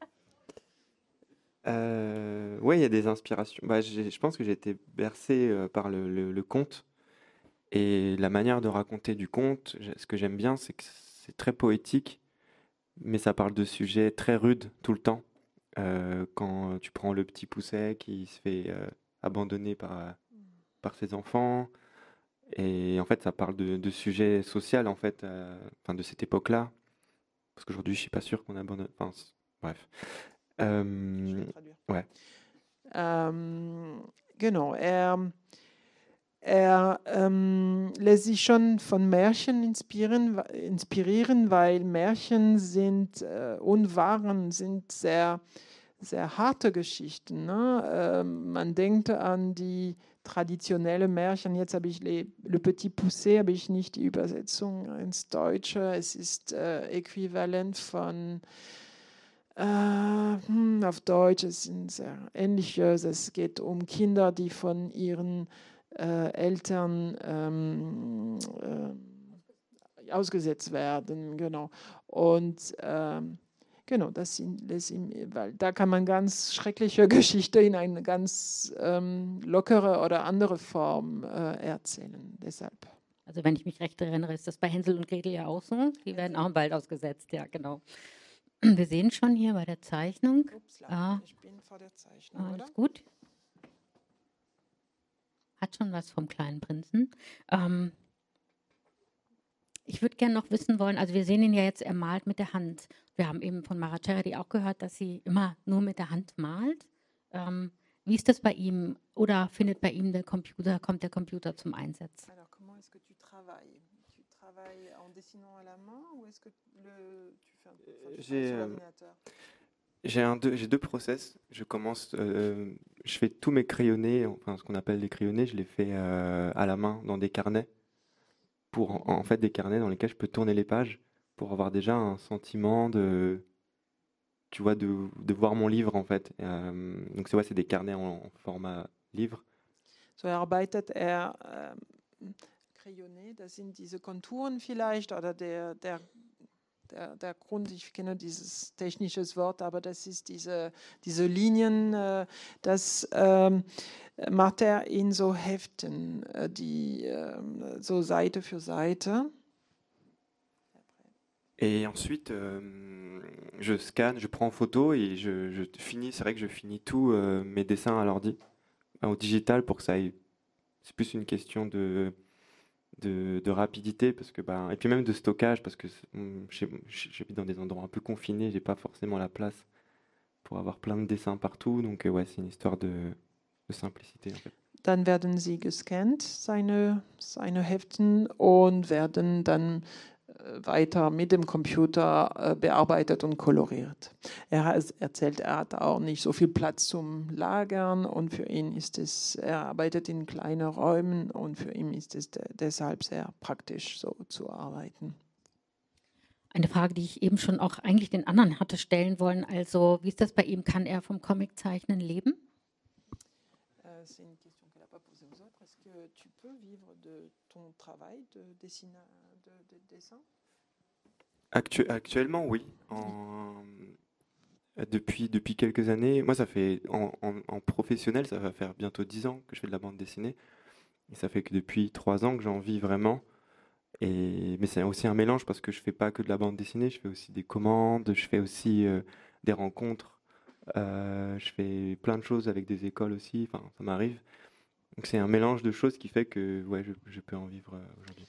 Euh, ouais, il y a des inspirations. Bah, j'ai- je pense que j'ai été bercé euh, par le, le- le conte et la manière de raconter du conte. j'ai- Ce que j'aime bien, c'est que c'est très poétique, mais ça parle de sujets très rudes tout le temps. Euh, quand tu prends le petit Pousset qui se fait euh, abandonner par, euh, par ses enfants, et en fait, ça parle de, de sujets sociaux en fait, euh, enfin de cette époque-là. Parce qu'aujourd'hui, je suis pas sûr qu'on abandonne. Enfin, c- bref. Je Euh, vais traduire. ouais. Ähm, genau, er, er ähm, lässt sich schon von Märchen inspirieren, inspirieren weil Märchen sind äh, und waren, sind sehr, sehr harte Geschichten. Ne? Ähm, man denkt an die traditionelle Märchen, jetzt habe ich Le, Le Petit Poucet, habe ich nicht die Übersetzung ins Deutsche, es ist äh, äquivalent von Äh, hm, auf Deutsch, es sind sehr ähnliche. Es geht um Kinder, die von ihren äh, Eltern ähm, äh, ausgesetzt werden, genau. Und ähm, genau, das sind, das sind, weil da kann man ganz schreckliche Geschichte in eine ganz ähm, lockere oder andere Form äh, erzählen. Deshalb. Also wenn ich mich recht erinnere, ist das bei Hänsel und Gretel ja auch so. Die werden auch im Wald ausgesetzt, ja, genau. Wir sehen schon hier bei der Zeichnung. Upsla, Ah, ich bin vor der Zeichnung, alles oder? gut. Hat schon was vom kleinen Prinzen. Ähm, ich würde gerne noch wissen wollen, also wir sehen ihn ja jetzt, er malt mit der Hand. Wir haben eben von Mara Ceredi auch gehört, dass sie immer nur mit der Hand malt. Ähm, wie ist das bei ihm? Oder findet bei ihm der Computer, kommt der Computer zum Einsatz? Alors, comment est-ce que tu travailles? Tu travailles en dessinant à la main ou est-ce que le, tu fais un, enfin, tu J'ai, travailles sur euh, l'ordinateur? J'ai un deux, j'ai deux process. Je commence, euh, je fais tous mes crayonnés, enfin ce qu'on appelle les crayonnés, je les fais euh, à la main dans des carnets, pour en, en fait des carnets dans lesquels je peux tourner les pages pour avoir déjà un sentiment de, tu vois, de, de voir mon livre en fait. Euh, donc c'est ouais, c'est des carnets en, en format livre. So arbeitet er ähm, Crayonné, das sind diese Konturen vielleicht oder der, der, der, der Grund, ich kenne dieses technische Wort, aber das ist diese, diese Linien, äh, das ähm, macht er in so Heften, äh, die äh, so Seite für Seite. Et ensuite, euh, je scanne, je prends en photo et je, je finis. C'est vrai que je finis tous euh, mes dessins à l'ordi, au digital, pour que ça aille. C'est plus une question de, de, de rapidité, parce que bah, et puis même de stockage, parce que hum, j'ai- j'habite dans des endroits un peu confinés, j'ai pas forcément la place pour avoir plein de dessins partout. Donc euh, ouais, c'est une histoire de, de simplicité en fait. Dann werden sie gescannt, seine, seine Heften, und werden dann äh, weiter mit dem Computer äh, bearbeitet und koloriert. Er hat, erzählt, er hat auch nicht so viel Platz zum Lagern, und für ihn ist es, er arbeitet in kleinen Räumen, und für ihn ist es de deshalb sehr praktisch, so zu arbeiten. Eine Frage, die ich eben schon auch eigentlich den anderen hatte stellen wollen. Also, wie ist das bei ihm? Kann er vom Comiczeichnen leben? Euh, C'est une question qu'elle n'a pas posée aux autres. Est-ce que tu peux vivre de ton travail de, dessina, de, de dessin? Actu- actuellement, oui. En- Depuis, depuis quelques années, moi, ça fait en, en- en professionnel, ça va faire bientôt dix ans que je fais de la bande dessinée. Et ça fait que depuis trois ans que j'en vis vraiment. Et, mais c'est aussi un mélange parce que je fais pas que de la bande dessinée, je fais aussi des commandes, je fais aussi euh, des rencontres, euh, je fais plein de choses avec des écoles aussi, enfin, ça m'arrive. Donc c'est un mélange de choses qui fait que ouais, je, je peux en vivre euh, aujourd'hui.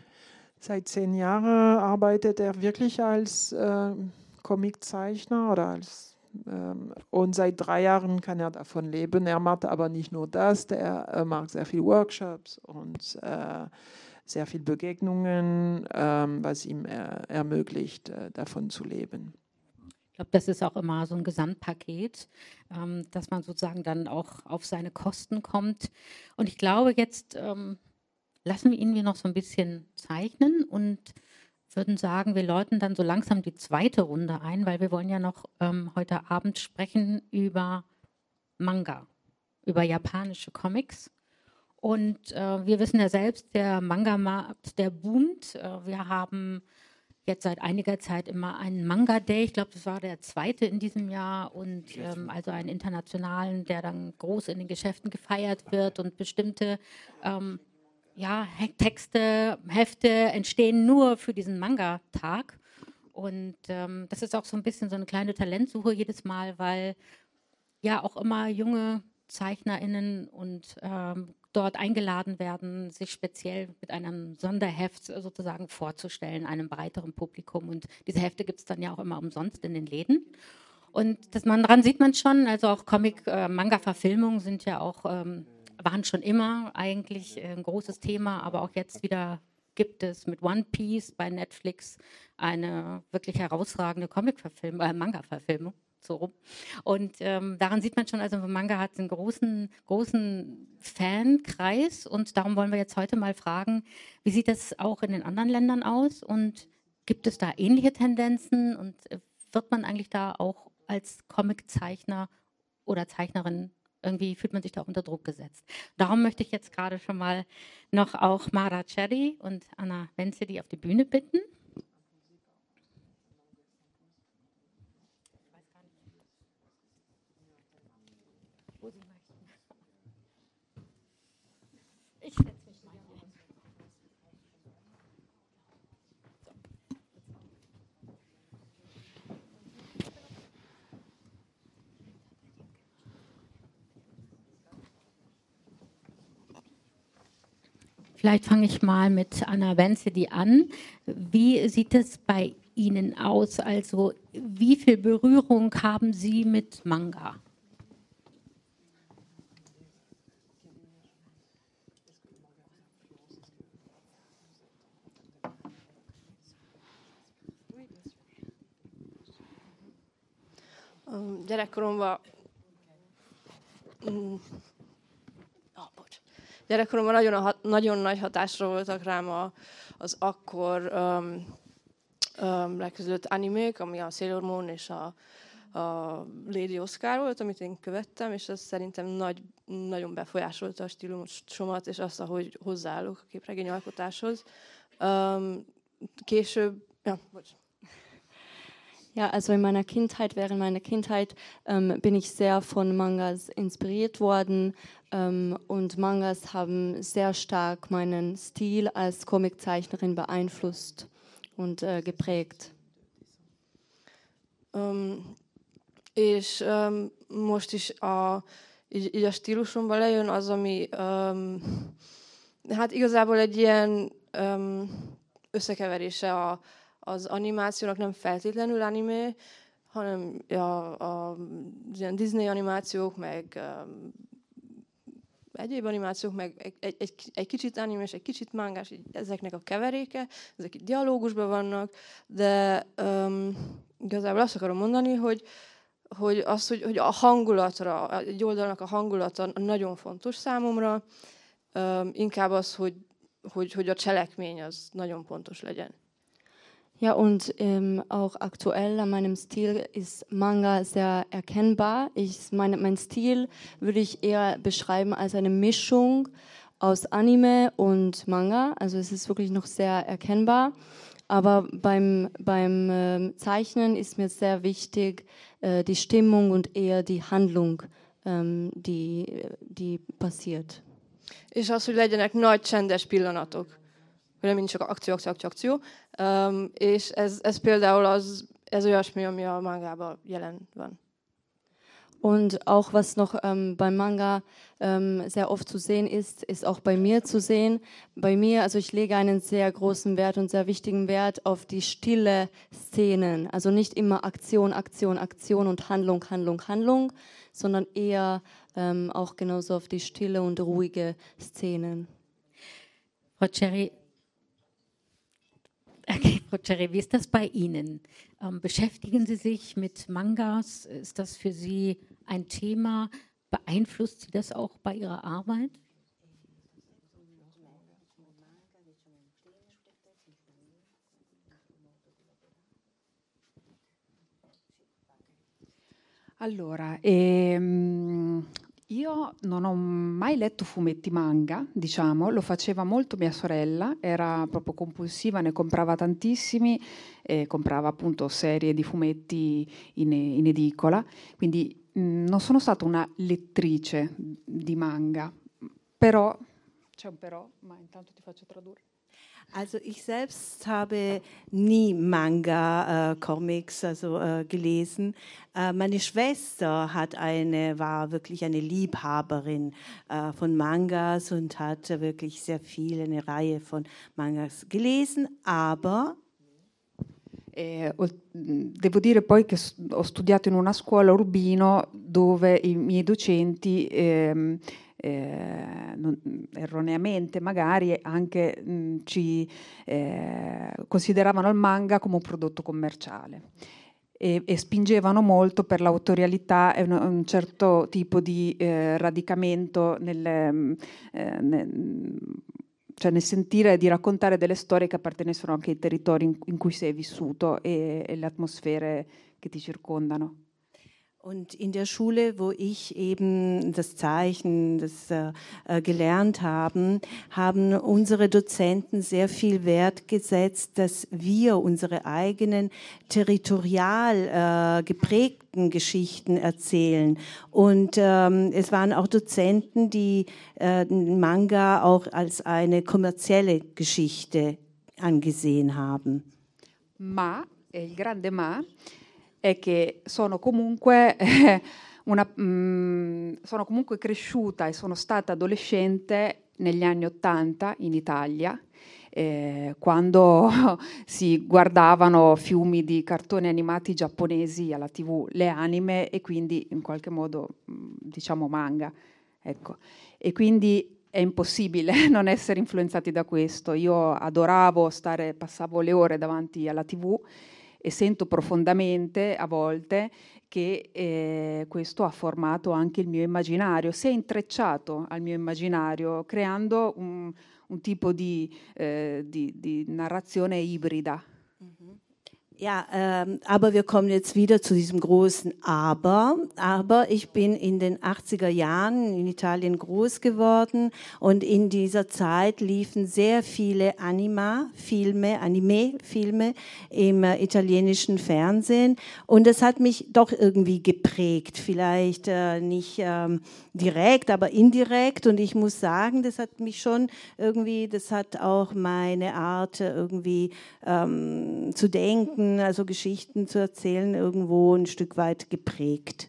Seit zehn Jahren arbeitet er wirklich als äh, Comiczeichner oder als ähm, und seit drei Jahren kann er davon leben. Er macht aber nicht nur das, er äh, macht sehr viele Workshops und äh, sehr viele Begegnungen, ähm, was ihm er, ermöglicht, äh, davon zu leben. Ich glaube, das ist auch immer so ein Gesamtpaket, ähm, dass man sozusagen dann auch auf seine Kosten kommt. Und ich glaube, jetzt ähm, lassen wir ihn noch so ein bisschen zeichnen und würden sagen, wir läuten dann so langsam die zweite Runde ein, weil wir wollen ja noch ähm, heute Abend sprechen über Manga, über japanische Comics. Und äh, wir wissen ja selbst, der Manga-Markt, der boomt. Äh, wir haben jetzt seit einiger Zeit immer einen Manga-Day. Ich glaube, das war der zweite in diesem Jahr. Und ähm, also einen internationalen, der dann groß in den Geschäften gefeiert wird. Und bestimmte ähm, ja, Texte, Hefte entstehen nur für diesen Manga-Tag. Und ähm, das ist auch so ein bisschen so eine kleine Talentsuche jedes Mal, weil ja auch immer junge ZeichnerInnen und ähm, dort eingeladen werden, sich speziell mit einem Sonderheft sozusagen vorzustellen, einem breiteren Publikum. Und diese Hefte gibt es dann ja auch immer umsonst in den Läden. Und das man, daran sieht man schon, also auch Comic-Manga-Verfilmungen sind ja auch, ähm, waren schon immer eigentlich ein großes Thema, aber auch jetzt wieder gibt es mit One Piece bei Netflix eine wirklich herausragende Comic-Verfilmung, äh, Manga-Verfilmung. So rum. Und ähm, daran sieht man schon, also Manga hat einen großen, großen Fankreis und darum wollen wir jetzt heute mal fragen, wie sieht das auch in den anderen Ländern aus und gibt es da ähnliche Tendenzen und wird man eigentlich da auch als Comiczeichner oder Zeichnerin irgendwie, fühlt man sich da auch unter Druck gesetzt. Darum möchte ich jetzt gerade schon mal noch auch Mara Cherry und Anna Wenzedi auf die Bühne bitten. Ich setze mich mal hier. Vielleicht fange ich mal mit Anna Wenzedi an. Wie sieht es bei Ihnen aus? Also wie viel Berührung haben Sie mit Manga? Gyerekkoromban mm, oh, bocs. Gyerekkoromban nagyon, nagyon nagy hatásra voltak rám a, az akkor um, um, legközelött animék, ami a Sailor Moon és a, a Lady Oscar volt, amit én követtem, és ez szerintem nagy, nagyon befolyásolta a stílusomat, és azt, ahogy hozzáállok a képregényalkotáshoz. Um, később, ja, bocs. Ja, also in meiner Kindheit, während meiner Kindheit ähm, bin ich sehr von Mangas inspiriert worden ähm, und Mangas haben sehr stark meinen Stil als Comiczeichnerin beeinflusst und äh, geprägt. Um, és um, most is a, így, így a stílusomban lejön az, ami um, hát igazából egy ilyen um, összekeverése a az animációnak, nem feltétlenül anime, hanem a, a, az ilyen Disney animációk, meg um, egyéb animációk, meg egy, egy, egy kicsit anime és egy kicsit mangás, így ezeknek a keveréke, ezek itt dialógusban vannak, de um, igazából azt akarom mondani, hogy, hogy az, hogy, hogy a hangulatra, egy oldalnak a hangulata nagyon fontos számomra, um, inkább az, hogy, hogy, hogy a cselekmény az nagyon pontos legyen. Ja, und ähm, auch aktuell an meinem Stil ist Manga sehr erkennbar. Ich, meine, mein Stil würde ich eher beschreiben als eine Mischung aus Anime und Manga. Also es ist wirklich noch sehr erkennbar. Aber beim, beim äh, Zeichnen ist mir sehr wichtig äh, die Stimmung und eher die Handlung, ähm, die, die passiert. És az, hogy legyenek nagy csendes pillanatok. Hogy nem mindig csak akció, akció, akció, akció. Um, és ez, ez például az, ez olyasmi, ami a mangában jelen van. Und auch was noch ähm, beim Manga ähm, sehr oft zu sehen ist, ist auch bei mir zu sehen. Bei mir, also ich lege einen sehr großen Wert und sehr wichtigen Wert auf die stille Szenen. Also nicht immer Aktion, Aktion, Aktion und Handlung, Handlung, Handlung, sondern eher ähm, auch genauso auf die stille und ruhige Szenen. Frau Cherry, okay, Frau Cherry, wie ist das bei Ihnen? Ähm, beschäftigen Sie sich mit Mangas? Ist das für Sie ein Thema? Beeinflusst Sie das auch bei Ihrer Arbeit? Allora, ehm, io non ho mai letto fumetti manga, diciamo, lo faceva molto mia sorella, era proprio compulsiva, ne comprava tantissimi, e comprava appunto serie di fumetti in, in edicola, quindi mh, non sono stata una lettrice di manga, però, c'è un però, ma intanto ti faccio tradurre. Also ich selbst habe nie Manga-Comics äh, also, äh, gelesen. Äh, meine Schwester hat eine, war wirklich eine Liebhaberin äh, von Mangas und hat wirklich sehr viel, eine Reihe von Mangas gelesen, aber Eh, devo dire poi che ho studiato in una scuola a Urbino dove i miei docenti ehm, eh, non, erroneamente magari anche mh, ci eh, consideravano il manga come un prodotto commerciale e, e spingevano molto per l'autorialità e un, un certo tipo di eh, radicamento nel, eh, nel cioè nel sentire di raccontare delle storie che appartenessero anche ai territori in, in cui sei vissuto e, e le atmosfere che ti circondano. Und in der Schule, wo ich eben das Zeichnen das, äh, gelernt habe, haben unsere Dozenten sehr viel Wert gesetzt, dass wir unsere eigenen territorial äh, geprägten Geschichten erzählen. Und ähm, es waren auch Dozenten, die äh, Manga auch als eine kommerzielle Geschichte angesehen haben. Ma, e il grande ma, è che sono comunque, eh, una, mh, sono comunque cresciuta e sono stata adolescente negli anni Ottanta in Italia, eh, quando si guardavano fiumi di cartoni animati giapponesi alla tivù, le anime e quindi in qualche modo mh, diciamo manga. Ecco. E quindi è impossibile non essere influenzati da questo. Io adoravo stare, passavo le ore davanti alla tivù e sento profondamente a volte che eh, questo ha formato anche il mio immaginario, si è intrecciato al mio immaginario creando un, un tipo di, eh, di, di narrazione ibrida. Mm-hmm. Ja, ähm, aber wir kommen jetzt wieder zu diesem großen Aber. Aber ich bin in den achtziger Jahren in Italien groß geworden und in dieser Zeit liefen sehr viele Anima-Filme, Anime-Filme im äh, italienischen Fernsehen und das hat mich doch irgendwie geprägt. Vielleicht äh, nicht ähm, direkt, aber indirekt und ich muss sagen, das hat mich schon irgendwie, das hat auch meine Art irgendwie ähm, zu denken, also Geschichten zu erzählen, irgendwo ein Stück weit geprägt.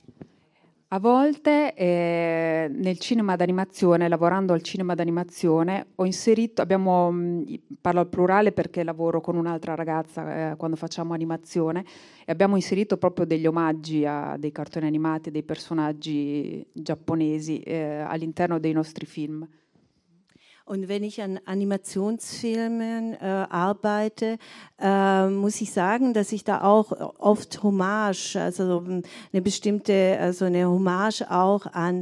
A volte eh, nel cinema d'animazione, lavorando al cinema d'animazione, ho inserito, abbiamo, parlo al plurale perché lavoro con un'altra ragazza eh, quando facciamo animazione, e abbiamo inserito proprio degli omaggi a dei cartoni animati, dei personaggi giapponesi eh, all'interno dei nostri film. Und wenn ich an Animationsfilmen äh, arbeite, äh, muss ich sagen, dass ich da auch oft Hommage, also eine bestimmte, also eine Hommage auch an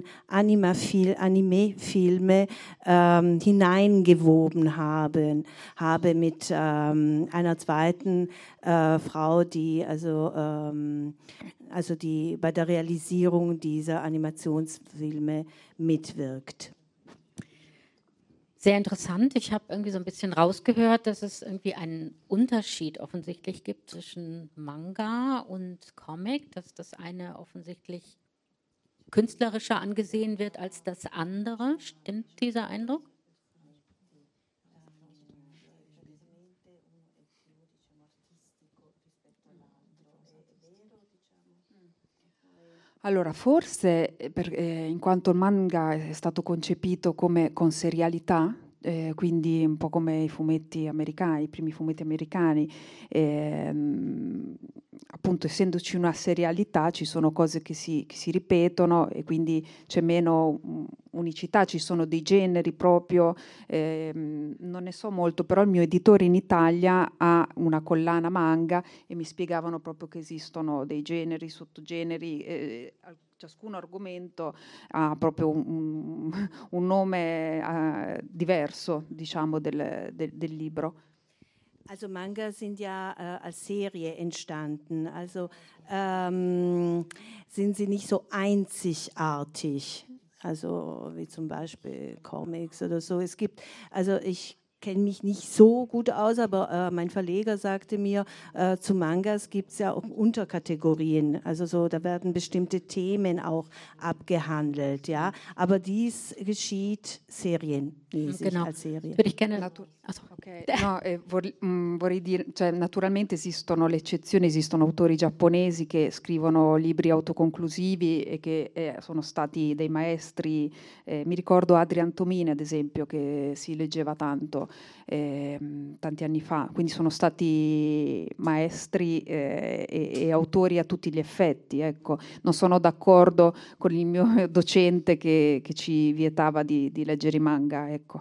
Anime-Filme ähm, hineingewoben habe, habe mit ähm, einer zweiten äh, Frau, die also ähm, also die bei der Realisierung dieser Animationsfilme mitwirkt. Sehr interessant. Ich habe irgendwie so ein bisschen rausgehört, dass es irgendwie einen Unterschied offensichtlich gibt zwischen Manga und Comic, dass das eine offensichtlich künstlerischer angesehen wird als das andere. Stimmt dieser Eindruck? Allora, forse eh, per- eh, in quanto il manga è stato concepito come con serialità, eh, quindi un po' come i fumetti americani, i primi fumetti americani, ehm, appunto essendoci una serialità ci sono cose che si, che si ripetono e quindi c'è meno mm, unicità, ci sono dei generi proprio, ehm, non ne so molto, però il mio editore in Italia ha una collana manga e mi spiegavano proprio che esistono dei generi, sottogeneri, eh, al- ciascun argomento ha proprio un, un nome eh, diverso, diciamo, del, del, del libro. Also Manga sind ja äh, als Serie entstanden, also ähm, sind sie nicht so einzigartig, also wie zum Beispiel Comics oder so. Es gibt, also ich kenne mich nicht so gut aus, aber äh, mein Verleger sagte mir, äh, zu Mangas gibt es ja auch Unterkategorien, also so, da werden bestimmte Themen auch abgehandelt, ja, aber dies geschieht serienmäßig Genau. als Serie. Würde ich gerne. Natu- Achso. Ok, no, eh, vor- mm, vorrei dire, cioè, naturalmente esistono le eccezioni, esistono autori giapponesi che scrivono libri autoconclusivi e che eh, sono stati dei maestri, eh, mi ricordo Adrian Tomine ad esempio che si leggeva tanto ehm, tanti anni fa, quindi sono stati maestri eh, e, e autori a tutti gli effetti, ecco. Non sono d'accordo con il mio docente che, che ci vietava di, di leggere i manga, ecco.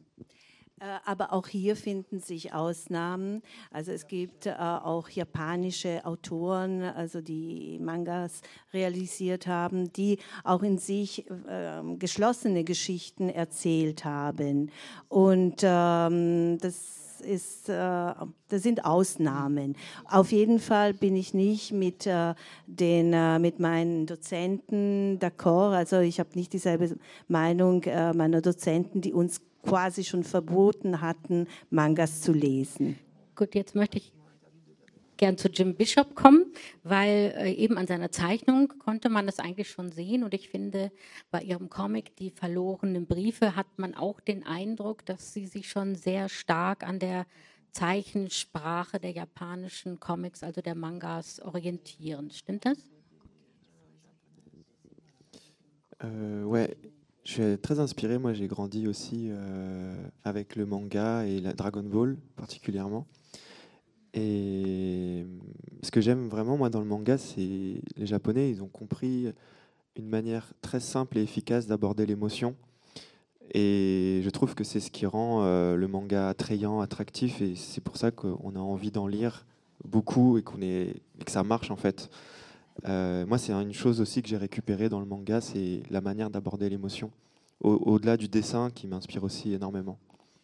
Äh, Aber auch hier finden sich Ausnahmen. Also es gibt äh, auch japanische Autoren, also die Mangas realisiert haben, die auch in sich äh, geschlossene Geschichten erzählt haben. Und ähm, das ist, äh, das sind Ausnahmen. Auf jeden Fall bin ich nicht mit, äh, den, äh, mit meinen Dozenten d'accord. Also ich habe nicht dieselbe Meinung äh, meiner Dozenten, die uns quasi schon verboten hatten, Mangas zu lesen. Gut, jetzt möchte ich gern zu Jim Bishop kommen, weil äh, eben an seiner Zeichnung konnte man das eigentlich schon sehen und ich finde, bei ihrem Comic Die verlorenen Briefe hat man auch den Eindruck, dass sie sich schon sehr stark an der Zeichensprache der japanischen Comics, also der Mangas, orientieren. Stimmt das? Euh, ouais, je suis très inspiré. Moi, j'ai grandi aussi euh, avec le manga et la Dragon Ball particulièrement. Et ce que j'aime vraiment, moi, dans le manga, c'est les Japonais, ils ont compris une manière très simple et efficace d'aborder l'émotion. Et je trouve que c'est ce qui rend euh, le manga attrayant, attractif, et c'est pour ça qu'on a envie d'en lire beaucoup et, qu'on est, et que ça marche en fait. Euh, moi, c'est une chose aussi que j'ai récupérée dans le manga, c'est la manière d'aborder l'émotion, au- au-delà du dessin qui m'inspire aussi énormément.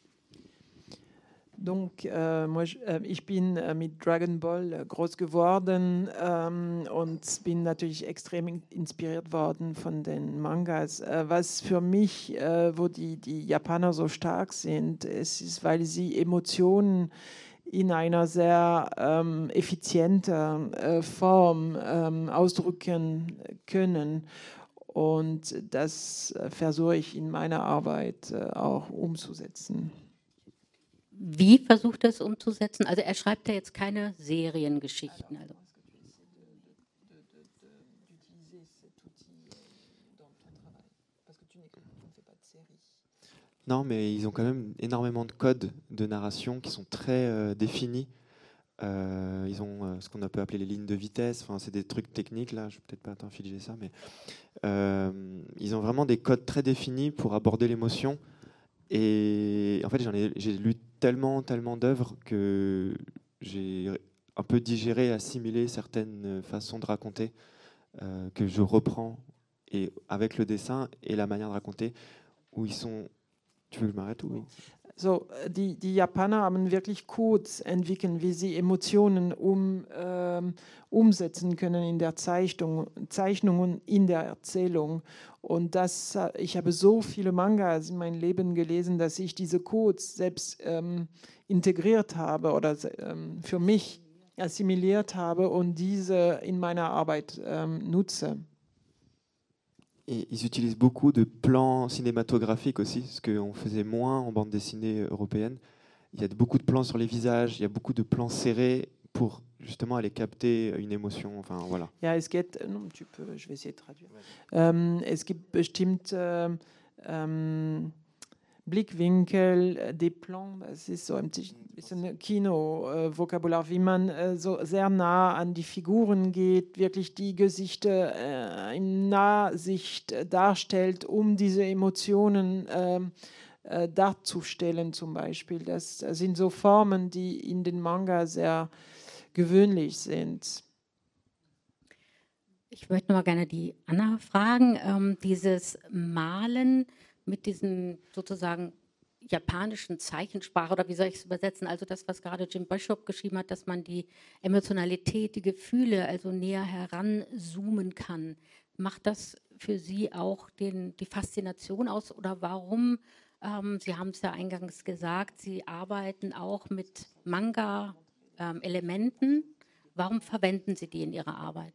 Donc, äh, moi, ich, äh, ich bin äh, mit Dragon Ball äh, groß geworden ähm, und bin natürlich extrem in, inspiriert worden von den Mangas. Äh, was für mich, äh, wo die, die Japaner so stark sind, es ist, weil sie Emotionen in einer sehr ähm, effizienten äh, Form ähm, ausdrücken können. Und das äh, versuche ich in meiner Arbeit äh, auch umzusetzen. Wie versucht er es umzusetzen? Also er schreibt ja jetzt keine Seriengeschichten. Also. Non, mais ils ont quand même énormément de codes de narration qui sont très euh, définis. Euh, ils ont euh, ce qu'on peut appeler les lignes de vitesse. Enfin, c'est des trucs techniques là. Je vais peut-être pas t'infliger ça, mais euh, ils ont vraiment des codes très définis pour aborder l'émotion. Et en fait, j'en ai, j'ai lu tellement, tellement d'œuvres que j'ai un peu digéré, assimilé certaines façons de raconter euh, que je reprends et avec le dessin et la manière de raconter où ils sont. Tu veux que je m'arrête ou oui? So, die, die Japaner haben wirklich Codes entwickelt, wie sie Emotionen um, ähm, umsetzen können in der Zeichnung, Zeichnung und in der Erzählung. Und das, ich habe so viele Mangas in meinem Leben gelesen, dass ich diese Codes selbst ähm, integriert habe oder ähm, für mich assimiliert habe und diese in meiner Arbeit ähm, nutze. Et ils utilisent beaucoup de plans cinématographiques aussi, ce qu'on faisait moins en bande dessinée européenne. Il y a beaucoup de plans sur les visages, il y a beaucoup de plans serrés pour justement aller capter une émotion. Enfin, voilà. Ja, es geht, non, tu peux, je vais essayer de traduire. Ähm, es gibt bestimmt ähm, ähm, Blickwinkel, des Plans, das ist so ein bisschen Kino-Vokabular, wie man äh, so sehr nah an die Figuren geht, wirklich die Gesichter äh, in Nahsicht darstellt, um diese Emotionen äh, äh, darzustellen zum Beispiel. Das sind so Formen, die in den Manga sehr gewöhnlich sind. Ich möchte mal gerne die Anna fragen, ähm, dieses Malen mit diesem sozusagen japanischen Zeichensprache, oder wie soll ich es übersetzen, also das, was gerade Jim Bishop geschrieben hat, dass man die Emotionalität, die Gefühle also näher heranzoomen kann. Macht das für Sie auch den, die Faszination aus, oder warum, ähm, Sie haben es ja eingangs gesagt, Sie arbeiten auch mit Manga-Elementen, ähm, warum verwenden Sie die in Ihrer Arbeit?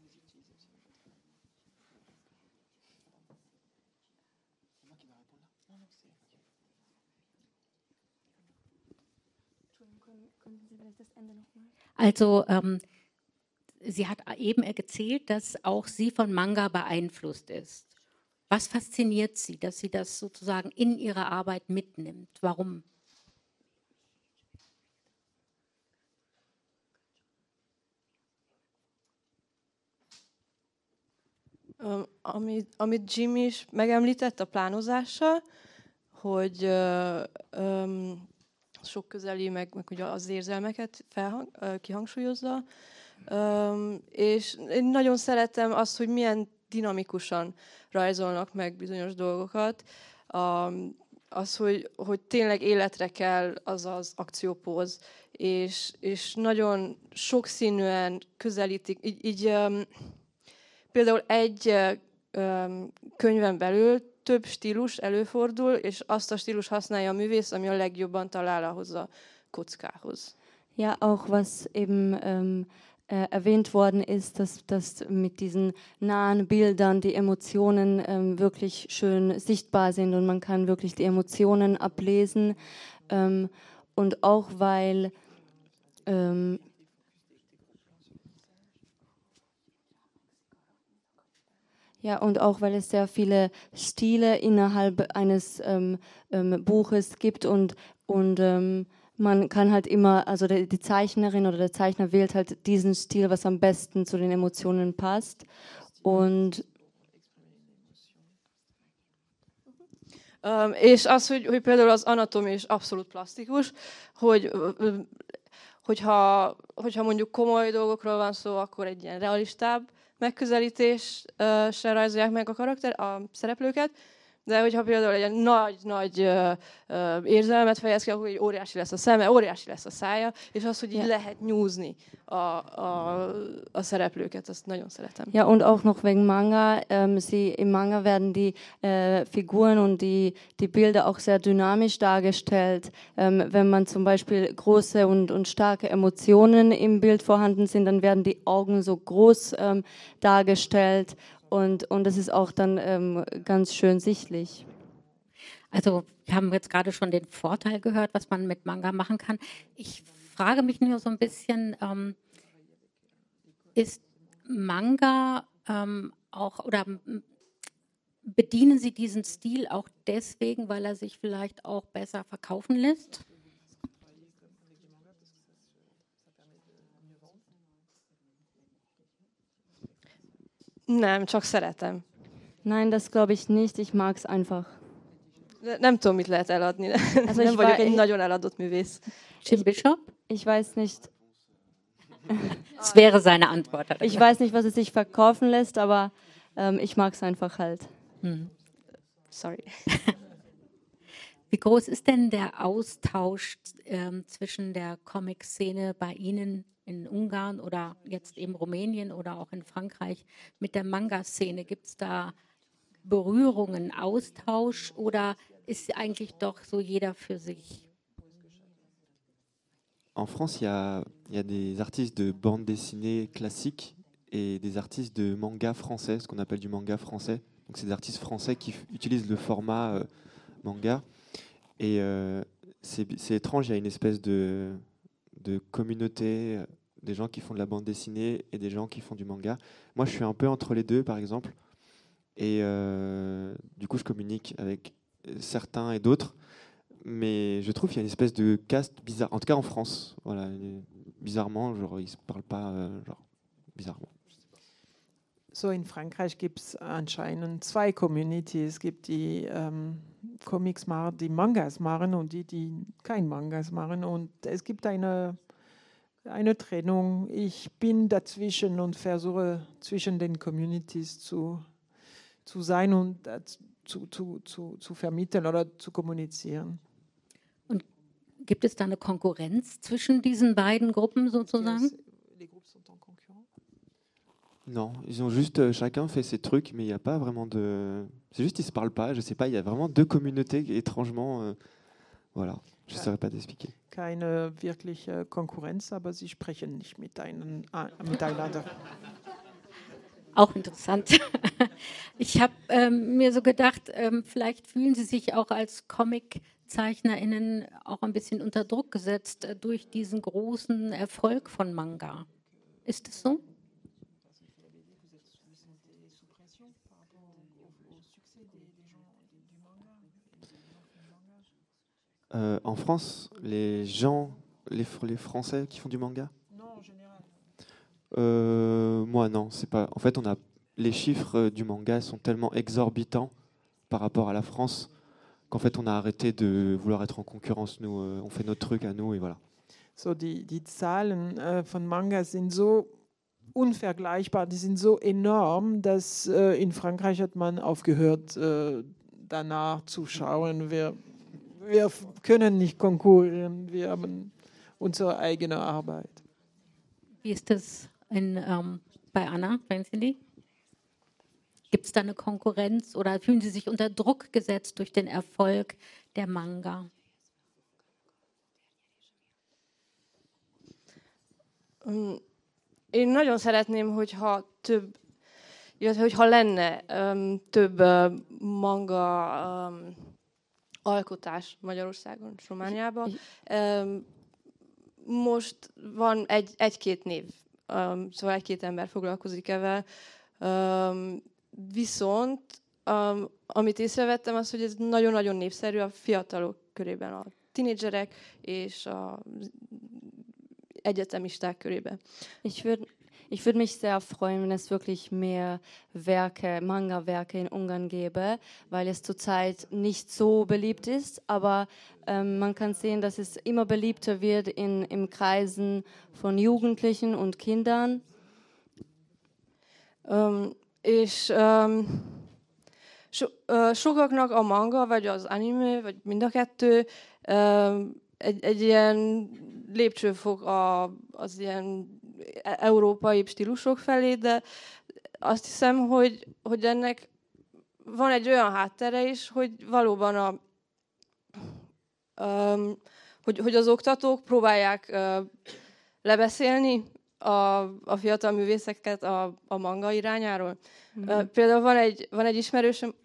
Also ähm, sie hat eben erzählt, dass auch sie von Manga beeinflusst ist. Was fasziniert Sie, dass sie das sozusagen in ihre Arbeit mitnimmt? Warum? Um, amit, amit Jim is megemlített a plánozással, hogy uh, um, sok közeli, meg, meg ugye az érzelmeket felhang, uh, kihangsúlyozza, um, és én nagyon szeretem azt, hogy milyen dinamikusan rajzolnak meg bizonyos dolgokat. Um, az, hogy, hogy tényleg életre kell az az akciópóz, és, és nagyon sokszínűen közelítik. Így, így um, például egy um, könyven belül több stílus előfordul, és azt a stílus használja a művész, ami a legjobban talál ahhoz a kockához. Ja, auch was eben ähm, äh, erwähnt worden ist, dass, dass mit diesen nahen Bildern die Emotionen ähm, wirklich schön sichtbar sind und man kann wirklich die Emotionen ablesen. Ähm, und auch weil ähm, Ja, und auch weil es sehr viele Stile innerhalb eines ähm, ähm, Buches gibt und, und ähm, man kann halt immer, also die, die Zeichnerin oder der Zeichner wählt halt diesen Stil, was am besten zu den Emotionen passt. Und Um, és az, hogy, hogy például az anatómia is abszolút plastikus, hogy hogyha, hogyha mondjuk komoly dolgokról van szó, akkor egy ilyen realistább megközelítéssel rajzolják meg a karakter, a szereplőket, de hogyha például egy nagy-nagy érzelmet fejez ki, akkor így óriási lesz a szeme, óriási lesz a szája, és az, hogy így ja. lehet nyúzni a, a, a szereplőket, azt nagyon szeretem. Ja, und auch noch wegen Manga. Ähm, sie, im Manga werden die äh, Figuren und die, die Bilder auch sehr dynamisch dargestellt. Ähm, wenn man zum Beispiel große und, und starke Emotionen im Bild vorhanden sind, dann werden die Augen so groß ähm, dargestellt. Und, und das ist auch dann ähm, ganz schön sichtlich. Also wir haben jetzt gerade schon den Vorteil gehört, was man mit Manga machen kann. Ich frage mich nur so ein bisschen, ähm, ist Manga ähm, auch, oder bedienen Sie diesen Stil auch deswegen, weil er sich vielleicht auch besser verkaufen lässt? Nem, csak szeretem. Nein, das glaube ich nicht. Ich mag es einfach. De nem tudom, mit lehet eladni. Also nem vagyok egy nagyon eladott művész. Jim Bishop? Ich weiß nicht. Das wäre seine Antwort. Ich weiß nicht, was es sich verkaufen lässt, aber ähm, ich mag es einfach halt. Hm. Sorry. Wie groß ist denn der Austausch ähm, zwischen der Comic-Szene bei Ihnen in Ungarn oder jetzt eben Rumänien oder auch in Frankreich mit der Manga-Szene? Gibt es da Berührungen, Austausch oder ist eigentlich doch so jeder für sich? En France, il y a, il y a des artistes de bande dessinée classique et des artistes de manga français, ce qu'on appelle du manga français. Donc c'est des artistes français qui f- utilisent le format euh, manga. Et euh, c'est, c'est étrange, il y a une espèce de, de communauté, euh, des gens qui font de la bande dessinée et des gens qui font du manga. Moi, je suis un peu entre les deux, par exemple. Et euh, du coup, je communique avec certains et d'autres. Mais je trouve qu'il y a une espèce de caste bizarre, en tout cas en France. Voilà, bizarrement, genre, ils ne se parlent pas, euh, genre, bizarrement. So, in Frankreich gibt es anscheinend zwei Communities. Es gibt die ähm, Comics machen, die Mangas machen und die, die kein Mangas machen. Und es gibt eine, eine Trennung. Ich bin dazwischen und versuche zwischen den Communities zu, zu sein und äh, zu, zu, zu, zu vermitteln oder zu kommunizieren. Und gibt es da eine Konkurrenz zwischen diesen beiden Gruppen sozusagen? Non, ils ont juste euh, chacun fait ses trucs, mais il n'y a pas vraiment de. C'est juste ils se parlent pas. Je sais pas. Il y a vraiment deux communautés étrangement. Euh, voilà, je ne saurais pas t'expliquer. Keine wirkliche Konkurrenz, aber sie sprechen nicht mit einen, äh, miteinander. Auch interessant. Ich habe ähm, mir so gedacht, ähm, vielleicht fühlen Sie sich auch als ComiczeichnerInnen auch ein bisschen unter Druck gesetzt äh, durch diesen großen Erfolg von Manga. Ist es so? Euh, en France, les gens, les, les Français qui font du manga. Non, en général. Euh, moi, non, c'est pas. En fait, on a les chiffres du manga sont tellement exorbitants par rapport à la France qu'en fait, on a arrêté de vouloir être en concurrence. Nous, euh, on fait notre truc à nous et voilà. So, die, die Zahlen äh, von Manga sind so unvergleichbar, die sind so enorm, dass äh, in Frankreich hat man aufgehört, äh, danach zu schauen. Wir, wir können nicht konkurrieren, wir haben unsere eigene Arbeit. Wie ist das in, ähm, bei Anna Fencili? Gibt es da eine Konkurrenz oder fühlen Sie sich unter Druck gesetzt durch den Erfolg der Manga? Um, én nagyon szeretném, hogyha több, illetve hogyha lenne um, több uh, manga um, alkotás Magyarországon, és Romániában. Um, most van egy, egy-két név, um, szóval egy-két ember foglalkozik ezzel. Um, viszont um, amit észrevettem, az, hogy ez nagyon-nagyon népszerű a fiatalok körében, a tinédzserek és a egyetemisták körében. Ich würde ich würd mich sehr freuen, wenn es wirklich mehr Werke, Manga-Werke in Ungarn gäbe, weil es zurzeit nicht so beliebt ist, aber ähm, man kann sehen, dass es immer beliebter wird in, in Kreisen von Jugendlichen und Kindern. Um, és um, so, uh, sokaknak a manga, vagy az anime, vagy mind a kettő um, egy, egy ilyen lépcsőfok a, az ilyen európai stílusok felé, de azt hiszem, hogy, hogy ennek van egy olyan háttere is, hogy valóban a, um, hogy, hogy az oktatók próbálják uh, lebeszélni a, a fiatal művészeket a, a manga irányáról. Mm-hmm. Uh, például van egy, van egy ismerősöm...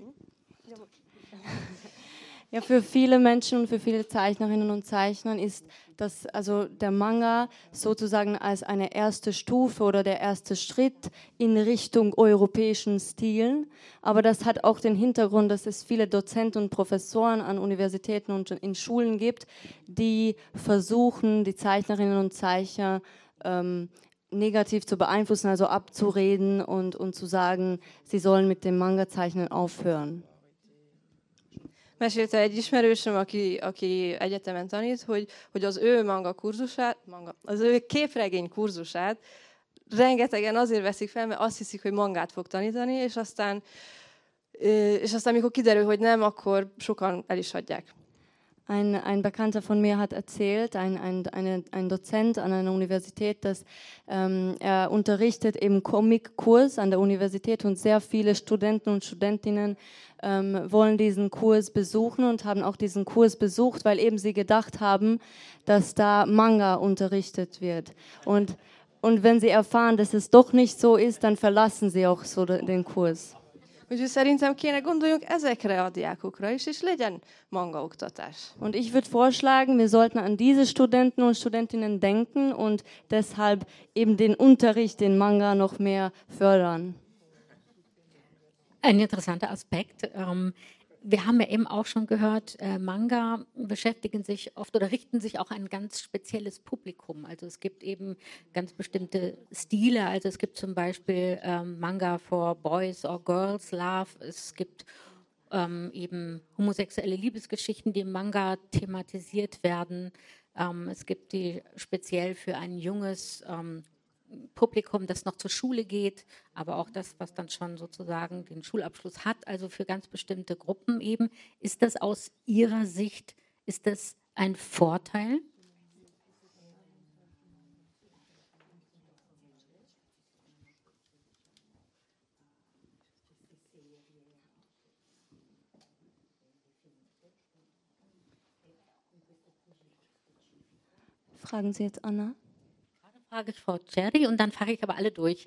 Ja, für viele Menschen und für viele Zeichnerinnen und Zeichner ist das, also der Manga sozusagen als eine erste Stufe oder der erste Schritt in Richtung europäischen Stilen. Aber das hat auch den Hintergrund, dass es viele Dozenten und Professoren an Universitäten und in Schulen gibt, die versuchen, die Zeichnerinnen und Zeichner ähm, negativ zu beeinflussen, also abzureden und, und zu sagen, sie sollen mit dem Manga-Zeichnen aufhören. Mesélte egy ismerősöm, aki, aki egyetemen tanít, hogy, hogy az ő manga kurzusát, manga, az ő képregény kurzusát rengetegen azért veszik fel, mert azt hiszik, hogy mangát fog tanítani, és aztán, és aztán mikor kiderül, hogy nem, akkor sokan el is hagyják. Ein, ein Bekannter von mir hat erzählt, ein, ein, eine, ein Dozent an einer Universität, dass ähm, er unterrichtet eben Comic-Kurs an der Universität und sehr viele Studenten und Studentinnen ähm, wollen diesen Kurs besuchen und haben auch diesen Kurs besucht, weil eben sie gedacht haben, dass da Manga unterrichtet wird. Und, und wenn sie erfahren, dass es doch nicht so ist, dann verlassen sie auch so den Kurs. Úgyhogy szerintem kéne gondoljunk ezekre a diákokra is, és legyen mangaoktatás. Und ich würde vorschlagen, wir sollten an diese Studenten und Studentinnen denken und deshalb eben den Unterricht in Manga noch mehr fördern. Ein interessanter Aspekt. Ähm, wir haben ja eben auch schon gehört, äh, Manga beschäftigen sich oft oder richten sich auch an ein ganz spezielles Publikum. Also es gibt eben ganz bestimmte Stile. Also es gibt zum Beispiel ähm, Manga for Boys or Girls Love. Es gibt ähm, eben homosexuelle Liebesgeschichten, die im Manga thematisiert werden. Ähm, es gibt die speziell für ein junges ähm, Publikum, das noch zur Schule geht, aber auch das, was dann schon sozusagen den Schulabschluss hat, also für ganz bestimmte Gruppen eben. Ist das aus Ihrer Sicht, ist das ein Vorteil? Fragen Sie jetzt Anna? Frage ich Frau Cherry und dann frage ich aber alle durch.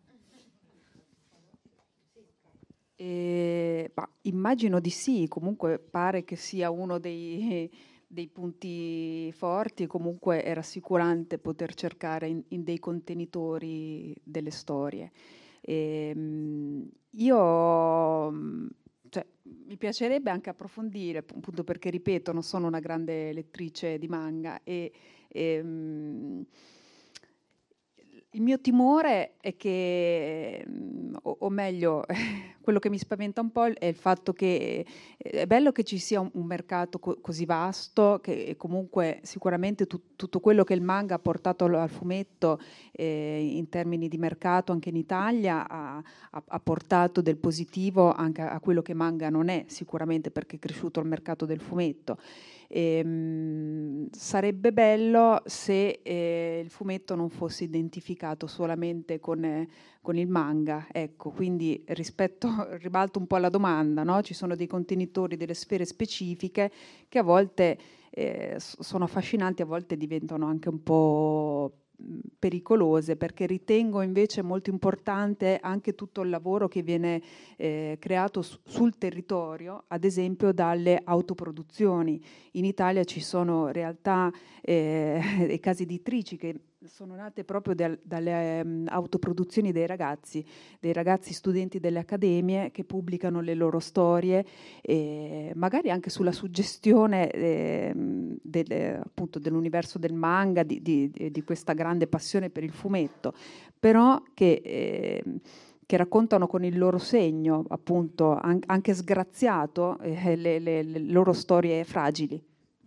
Eh, bah, immagino di sì, comunque pare che sia uno dei, dei punti forti e comunque è rassicurante poter cercare in, in dei contenitori delle storie. E, io cioè, mi piacerebbe anche approfondire, appunto perché ripeto, non sono una grande lettrice di manga e, e il mio timore è che, o, o meglio, quello che mi spaventa un po' è il fatto che è bello che ci sia un, un mercato co- così vasto, che comunque sicuramente tu, tutto quello che il manga ha portato al, al fumetto eh, in termini di mercato anche in Italia ha, ha, ha portato del positivo anche a, a quello che manga non è, sicuramente perché è cresciuto il mercato del fumetto. E, mh, sarebbe bello se eh, il fumetto non fosse identificato solamente con, eh, con il manga, ecco, quindi rispetto, ribalto un po' la domanda, no? Ci sono dei contenitori, delle sfere specifiche che a volte eh, sono affascinanti, a volte diventano anche un po' pericolose, perché ritengo invece molto importante anche tutto il lavoro che viene eh, creato su, sul territorio, ad esempio dalle autoproduzioni. In Italia ci sono realtà eh, e case editrici che sono nate proprio dal, dalle um, autoproduzioni dei ragazzi, dei ragazzi studenti delle accademie che pubblicano le loro storie, eh, magari anche sulla suggestione eh, del, appunto dell'universo del manga, di, di, di questa grande passione per il fumetto, però che, eh, che raccontano con il loro segno, appunto, an- anche sgraziato, eh, le, le, le loro storie fragili.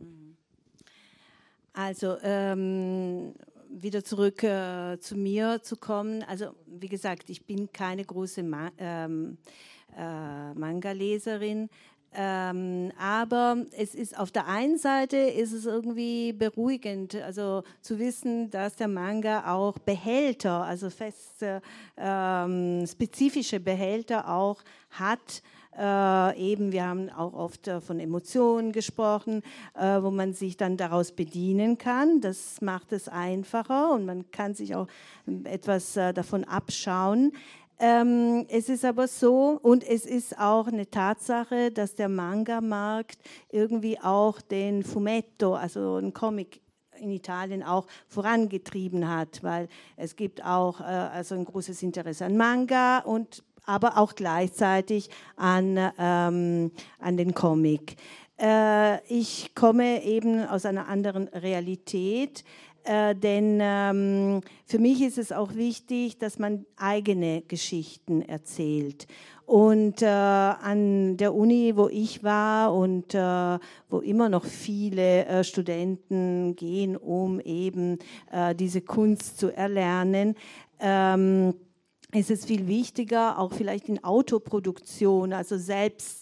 Also, ähm, wieder zurück äh, zu mir zu kommen. Also wie gesagt, ich bin keine große Ma- ähm, äh, Manga-Leserin, ähm, aber es ist auf der einen Seite ist es irgendwie beruhigend, also zu wissen, dass der Manga auch Behälter, also feste, ähm, spezifische Behälter auch hat. Äh, eben, wir haben auch oft äh, von Emotionen gesprochen, äh, wo man sich dann daraus bedienen kann. Das macht es einfacher und man kann sich auch etwas äh, davon abschauen. Ähm, es ist aber so, und es ist auch eine Tatsache, dass der Manga-Markt irgendwie auch den Fumetto, also ein Comic, in Italien auch vorangetrieben hat, weil es gibt auch äh, also ein großes Interesse an Manga und aber auch gleichzeitig an, ähm, an den Comic. Äh, ich komme eben aus einer anderen Realität, äh, denn ähm, für mich ist es auch wichtig, dass man eigene Geschichten erzählt. Und äh, an der Uni, wo ich war und äh, wo immer noch viele äh, Studenten gehen, um eben äh, diese Kunst zu erlernen, ähm, ist es viel wichtiger, auch vielleicht in Autoproduktion, also selbst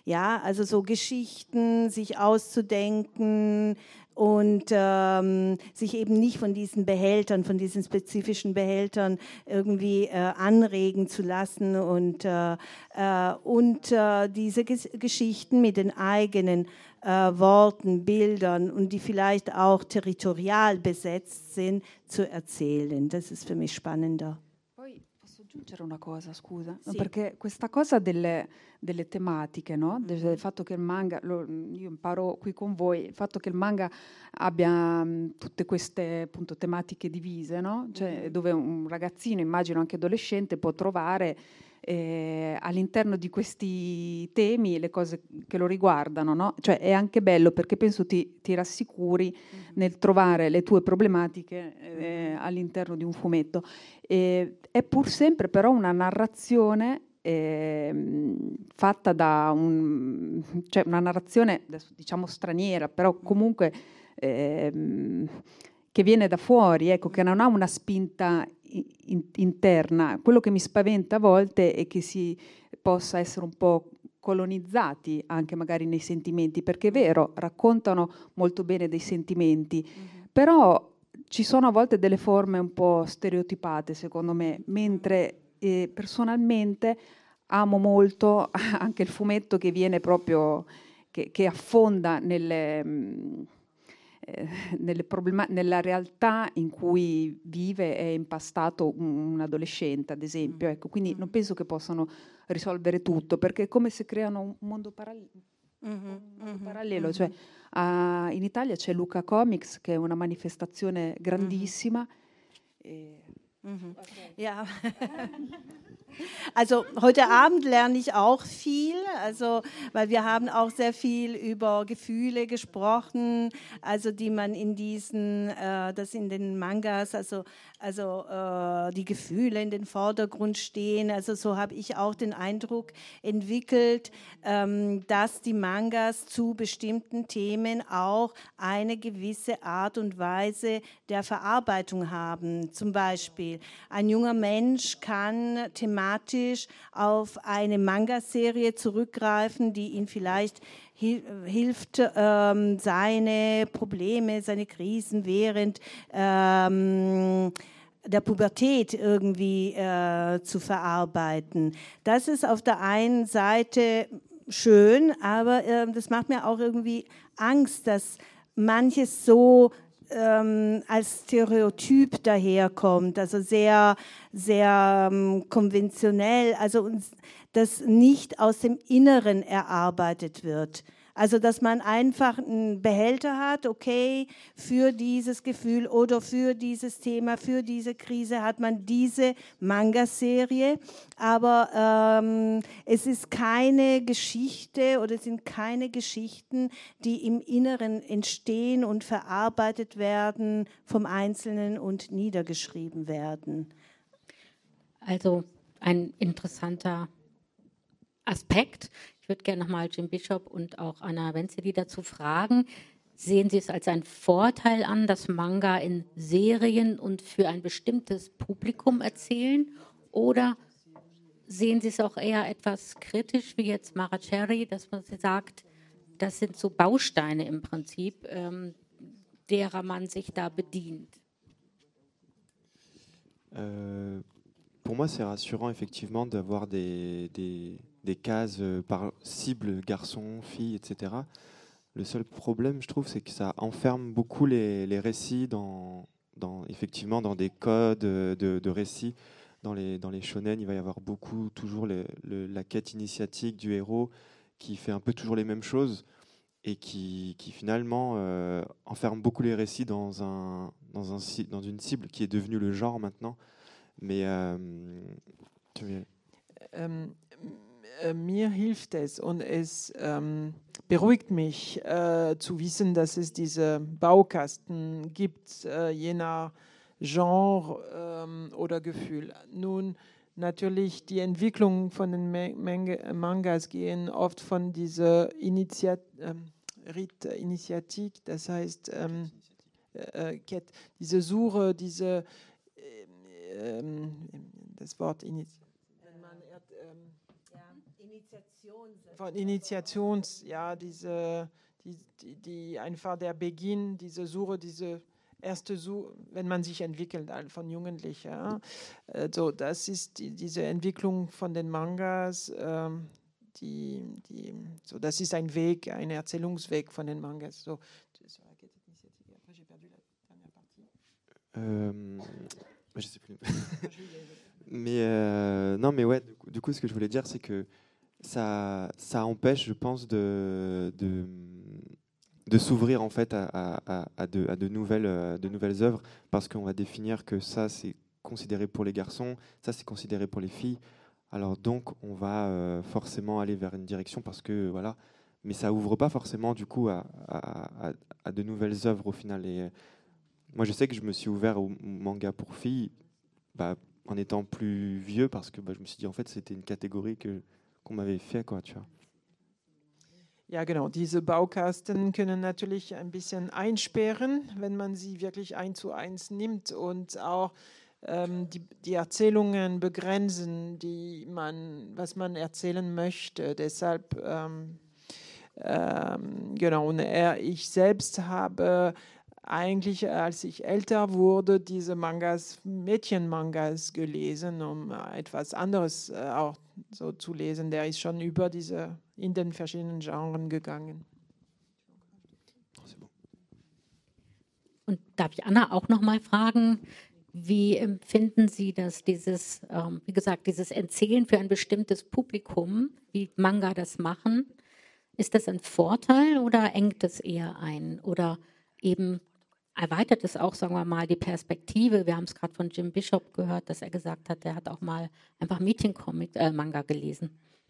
Ja, also so Geschichten, sich auszudenken und ähm, sich eben nicht von diesen Behältern, von diesen spezifischen Behältern irgendwie äh, anregen zu lassen und, äh, äh, und äh, diese Ges Geschichten mit den eigenen äh, Worten, Bildern und die vielleicht auch territorial besetzt sind, zu erzählen. Das ist für mich spannender. Posso aggiungere una cosa, scusa? Sì. Perché questa cosa delle, delle tematiche, no? Del fatto che il manga, lo, io imparo qui con voi, il fatto che il manga abbia mh, tutte queste appunto tematiche divise, no? Cioè, dove un ragazzino, immagino anche adolescente, può trovare eh, all'interno di questi temi le cose che lo riguardano, no? Cioè è anche bello perché penso ti, ti rassicuri mm-hmm. nel trovare le tue problematiche eh, all'interno di un fumetto. E, è pur sempre però una narrazione eh, fatta da un, cioè una narrazione adesso diciamo straniera, però comunque eh, che viene da fuori, ecco, che non ha una spinta in, interna. Quello che mi spaventa a volte è che si possa essere un po' colonizzati anche magari nei sentimenti, perché è vero, raccontano molto bene dei sentimenti, mm-hmm. però ci sono a volte delle forme un po' stereotipate, secondo me, mentre eh, personalmente amo molto anche il fumetto che viene proprio, che, che affonda nelle... Mh, Eh, nelle problema- nella realtà in cui vive è impastato un, un adolescente, ad esempio. Ecco, quindi non penso che possano risolvere tutto, perché è come se creano un mondo, paral- mm-hmm, un mondo mm-hmm, parallelo. Mm-hmm. Cioè, uh, in Italia c'è Luca Comics, che è una manifestazione grandissima. Mm-hmm. E... Mm-hmm. Okay. Ja. Also heute Abend lerne ich auch viel, also weil wir haben auch sehr viel über Gefühle gesprochen, also die man in diesen, äh, das in den Mangas, also also äh, die Gefühle in den Vordergrund stehen. Also so habe ich auch den Eindruck entwickelt, ähm, dass die Mangas zu bestimmten Themen auch eine gewisse Art und Weise der Verarbeitung haben. Zum Beispiel ein junger Mensch kann thematisch auf eine Manga-Serie zurückgreifen, die ihn vielleicht hilft, ähm, seine Probleme, seine Krisen während ähm, der Pubertät irgendwie äh, zu verarbeiten. Das ist auf der einen Seite schön, aber äh, das macht mir auch irgendwie Angst, dass manches so ähm, als Stereotyp daherkommt, also sehr, sehr ähm, konventionell, also das nicht aus dem Inneren erarbeitet wird. Also, dass man einfach einen Behälter hat, okay, für dieses Gefühl oder für dieses Thema, für diese Krise hat man diese Manga-Serie, aber ähm, es ist keine Geschichte oder es sind keine Geschichten, die im Inneren entstehen und verarbeitet werden vom Einzelnen und niedergeschrieben werden. Also ein interessanter Aspekt. Ich würde gerne nochmal Jim Bishop und auch Anna Wenzeli dazu fragen. Sehen Sie es als einen Vorteil an, dass Manga in Serien und für ein bestimmtes Publikum erzählen? Oder sehen Sie es auch eher etwas kritisch, wie jetzt Mara Cherry, dass man sagt, das sind so Bausteine im Prinzip, ähm, derer man sich da bedient? Euh, pour moi, c'est rassurant effectivement d'avoir des, des, des cases par cible, garçons, filles, et cetera. Le seul problème, je trouve, c'est que ça enferme beaucoup les, les récits dans, dans, effectivement, dans des codes de, de récits. Dans les, dans les shonen, il va y avoir beaucoup, toujours le, le, la quête initiatique du héros qui fait un peu toujours les mêmes choses et qui, qui finalement euh, enferme beaucoup les récits dans, un, dans, un, dans une cible qui est devenue le genre maintenant. Mais euh, tu veux... ähm, äh, mir hilft es und es ähm, beruhigt mich äh, zu wissen, dass es diese Baukasten gibt, äh, je nach Genre ähm, oder Gefühl. Nun, natürlich, die Entwicklung von den Manga, Mangas gehen oft von dieser Initiat, ähm, Initiatik, das heißt, ähm, äh, diese Suche, diese das Wort Initiative. von Initiations, ja, diese, die, die, die einfach der Beginn, diese Suche, diese erste Suche, wenn man sich entwickelt von Jugendlichen. Ja. Also das ist die, diese Entwicklung von den Mangas, ähm, die, die, so, das ist ein Weg, ein Erzählungsweg von den Mangas. So. Euh, je sais plus. mais euh, non, mais ouais, du coup, du coup, ce que je voulais dire, c'est que ça, ça empêche, je pense, de, de, de s'ouvrir en fait à, à, à, de, à de, nouvelles, de nouvelles œuvres, parce qu'on va définir que ça, c'est considéré pour les garçons, ça, c'est considéré pour les filles. Alors donc, on va euh, forcément aller vers une direction, parce que voilà, mais ça ouvre pas forcément du coup à, à, à, à de nouvelles œuvres au final. Et moi, je sais que je me suis ouvert au manga pour filles bah, en étant plus vieux, parce que bah, je me suis dit, en fait, c'était une catégorie que, qu'on m'avait fait, quoi, tu vois. Ja, genau. Diese Baukasten können natürlich ein bisschen einsperren, wenn man sie wirklich eins zu eins nimmt und auch ähm, die, die Erzählungen begrenzen, die man, was man erzählen möchte. Deshalb, ähm, ähm, genau. Und er, ich selbst habe eigentlich, als ich älter wurde, diese Mangas, Mädchenmangas gelesen, um etwas anderes äh, auch so zu lesen. Der ist schon über diese, in den verschiedenen Genres gegangen. Und darf ich Anna auch noch mal fragen, wie empfinden Sie das, dieses, ähm, wie gesagt, dieses Erzählen für ein bestimmtes Publikum, wie Manga das machen? Ist das ein Vorteil oder engt es eher ein? Oder eben erweitert es auch, sagen wir mal, die Perspektive? Wir haben es gerade von Jim Bishop gehört, dass er gesagt hat, er hat auch mal einfach Mädchencomic, äh, Manga gelesen.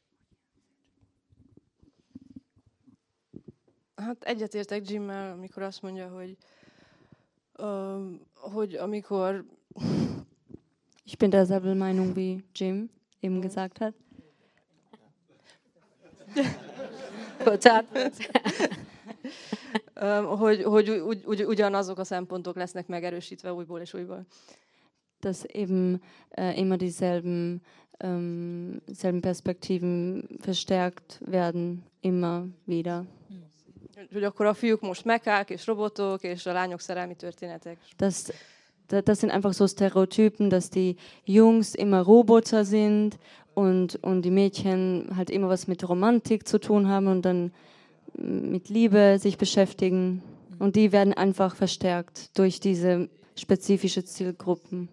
Hát egyetértek Jimmel, amikor azt mondja, hogy, uh, hogy amikor... Ich bin derselben Meinung wie Jim eben gesagt hat. um, hogy, hogy ugy, ugy, ugyanazok a szempontok lesznek megerősítve újból és újból. Dass eben äh, immer dieselben ähm, selben Perspektiven verstärkt werden, immer wieder. Hogy akkor a fiúk most mekák és robotok, és a lányok szerelmi történetek. Das, das sind einfach so Stereotypen, dass die Jungs immer Roboter sind und, und die Mädchen halt immer was mit Romantik zu tun haben und dann mit Liebe sich beschäftigen. Und die werden einfach verstärkt durch diese spezifische Zielgruppen.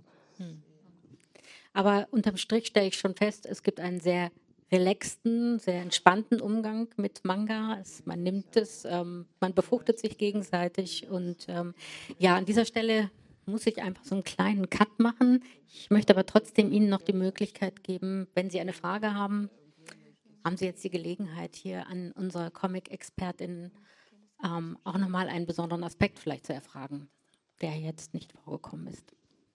Aber unterm Strich stelle ich schon fest, es gibt einen sehr relaxten, sehr entspannten Umgang mit Manga. Es, man nimmt es, ähm, man befruchtet sich gegenseitig. Und ähm, ja, an dieser Stelle muss ich einfach so einen kleinen Cut machen. Ich möchte aber trotzdem Ihnen noch die Möglichkeit geben, wenn Sie eine Frage haben, haben Sie jetzt die Gelegenheit, hier an unsere Comic-Expertin ähm, auch nochmal einen besonderen Aspekt vielleicht zu erfragen, der jetzt nicht vorgekommen ist.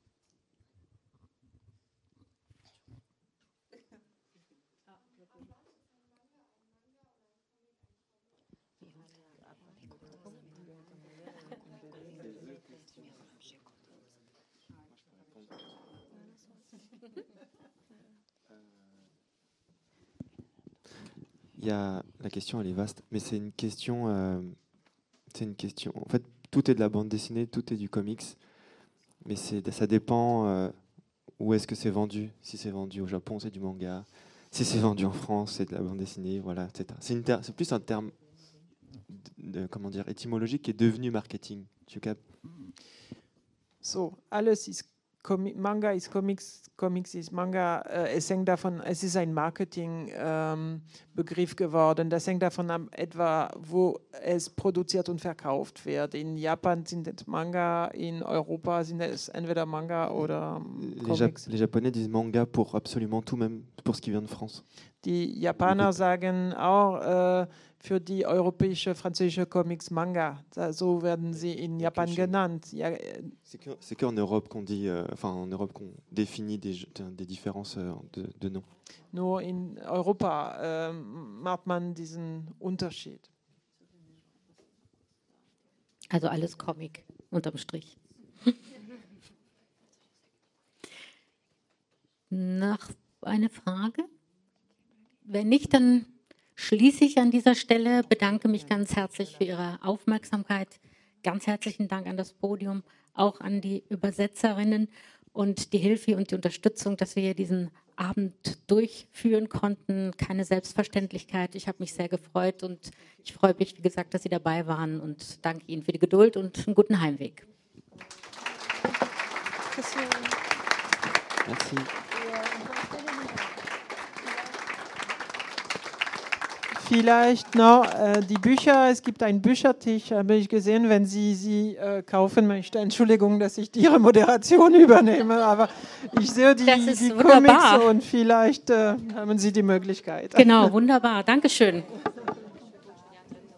Il y a, la question, elle est vaste, mais c'est une question, euh, c'est une question. En fait, tout est de la bande dessinée, tout est du comics, mais c'est, ça dépend euh, où est-ce que c'est vendu. Si c'est vendu au Japon, c'est du manga. Si c'est vendu en France, c'est de la bande dessinée, voilà, et cetera. C'est, une ter- c'est plus un terme, de, de, comment dire, étymologique qui est devenu marketing. Tu captes? So, alles ist Com- Manga ist Comics, Comics ist Manga. Äh, es hängt davon, es ist ein Marketingbegriff ähm, geworden. Das hängt davon ab, etwa, wo es produziert und verkauft wird. In Japan sind es Manga, in Europa sind es entweder Manga oder ähm, les, Jap- les Japonais disent manga pour absolument tout, même pour ce qui vient de France. Die Japaner sagen auch äh, für die europäische, französische Comics Manga. So werden sie in Japan okay, genannt. Ja, äh, c'est, que, c'est qu'en Europe qu'on dit, euh, enfin en Europe qu'on définit des, des différences euh, de, de noms. Nur in Europa äh, macht man diesen Unterschied. Also alles Comic, unterm Strich. Noch eine Frage? wenn nicht, dann schließe ich an dieser Stelle, bedanke mich ganz herzlich für Ihre Aufmerksamkeit. Ganz herzlichen Dank an das Podium, auch an die Übersetzerinnen und die Hilfe und die Unterstützung, dass wir hier diesen Abend durchführen konnten. Keine Selbstverständlichkeit. Ich habe mich sehr gefreut und ich freue mich, wie gesagt, dass Sie dabei waren und danke Ihnen für die Geduld und einen guten Heimweg. Merci. Vielleicht noch äh, die Bücher, es gibt einen Büchertisch, habe ich gesehen, wenn Sie sie äh, kaufen möchten. Entschuldigung, dass ich Ihre Moderation übernehme, aber ich sehe die, die Comics und vielleicht äh, haben Sie die Möglichkeit. Genau, wunderbar. Dankeschön.